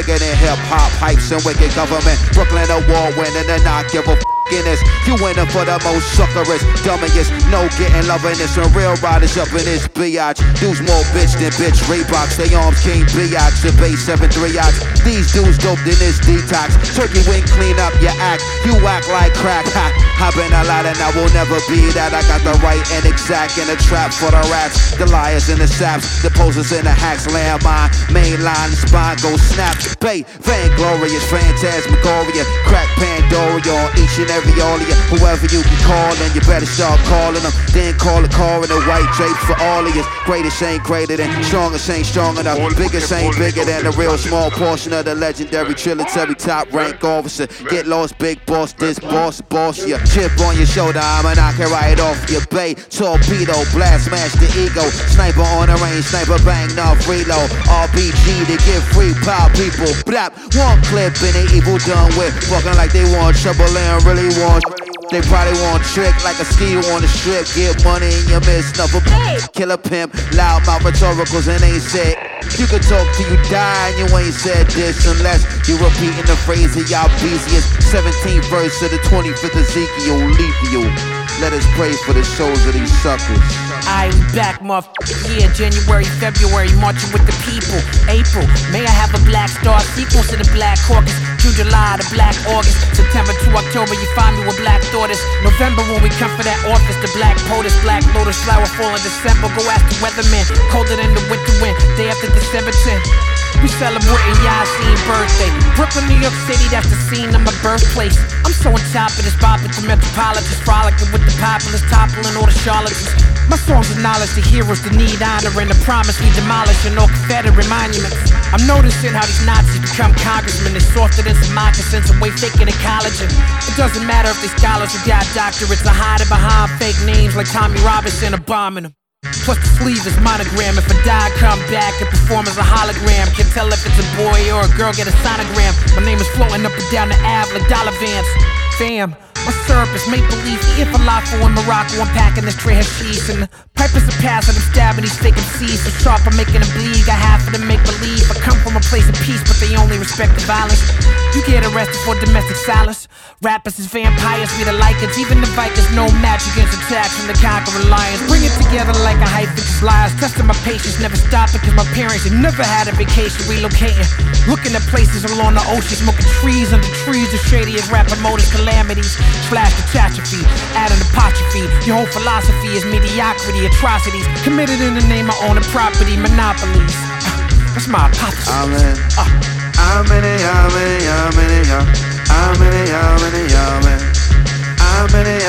bigger than hip hop, hypes and wicked government. Brooklyn award winning and not give a f in this. You winning for the most suckerest, dummiest. No getting loving this when real riders up in this biatch. Dudes more bitch than bitch Reeboks. They arms king biatch, the base seven three ox. These dudes doped in this detox. Turkey wing clean up your act. You act like crack. Ha. I've been a lot and I will never be that. I got the right and exact in the trap for the rats, the liars and the saps, the posers and the hacks. Landmine, main line, the spine go snap. Bait, vainglorious, phantasmagoria, crack Pandoria on each and every all of you. Whoever you can call and you better start calling them. Then call a car in a white drape for all of you. Greatest ain't greater than, strongest ain't strong enough. Biggest ain't bigger than the real small portion of the legendary trilitary top rank officer. Get lost, big boss, this boss, boss ya. Chip on your shoulder, I'ma knock it right off your bay. Torpedo, blast, smash the ego. Sniper on the range, sniper bang, enough reload. R B G to get free, power people. Blap, one clip and they evil done with. Walking like they want trouble and really want. They probably want trick like a ski on the strip. Get money in your midst of a killer pimp. Loud mouth rhetoricals and ain't said. You can talk till you die and you ain't said this unless you repeating the phrase of y'all busiest. seventeenth verse of the twenty-fifth Ezekiel, lethal. Let us pray for the souls of these suckers. I be back, motherfucker. Yeah, January, February, marching with the people. April, may I have a black star sequence to the Black Caucus. June, July, the Black August. September to October, you find me with Black Daughters. November, when we come for that office, the Black POTUS, Black Lotus, flower fall in December. Go ask the weatherman, colder than the winter wind. Day after December tenth. We celebrating Yasin birthday. Brooklyn, New York City, that's the scene of my birthplace. I'm so on top of this bop at the metropolitans, frolicking with the populace, toppling all the charlatans. My songs acknowledge the heroes that need honor and the promise we demolishing all Confederate monuments. I'm noticing how these Nazis become congressmen. They're softer than some moccasins and way faker than college. And it doesn't matter if they scholars who got doctorates are hiding behind fake names like Tommy Robinson or bombing them. Plus the sleeve is monogram. If I die, come back and perform as a hologram. Can't tell if it's a boy or a girl, get a sonogram. My name is floating up and down the Ave like dollar vans. Fam, my syrup is make-believe. If a falafel in Morocco, I'm packing this tray hashish. And the pipers are passing, I'm stabbing these fake M Cs. So sharp, I'm making them bleed. Got half of them make-believe. I come from a place of peace, but they only respect the violence. You get arrested for domestic silence. Rappers is vampires, we the Lycans. Even the Vikings know match against attacks from the conquering lions. Bring it together like a hype because lies. Testing my patience, never stopping because my parents have never had a vacation. Relocating, looking at places along the ocean. Smoking trees under trees, the shadiest rap promoters, calamities. Flash catastrophe, adding apostrophe. Your whole philosophy is mediocrity, atrocities committed in the name of owning property, monopolies. That's my hypothesis. Amen. Uh. Amen. Amen. Amen. Amen. Amen. Amen. Amen. Amen. Amen.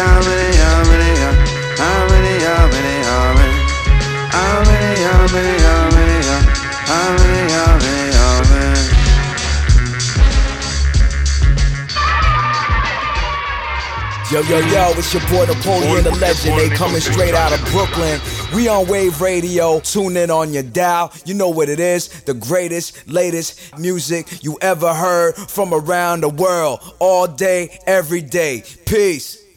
Amen. Amen. Amen. Amen. Amen. Amen. Yo, yo, yo, it's your boy Napoleon the Legend. They coming straight out of Brooklyn. We on Wave Radio. Tune in on your dial. You know what it is. The greatest, latest music you ever heard from around the world. All day, every day. Peace.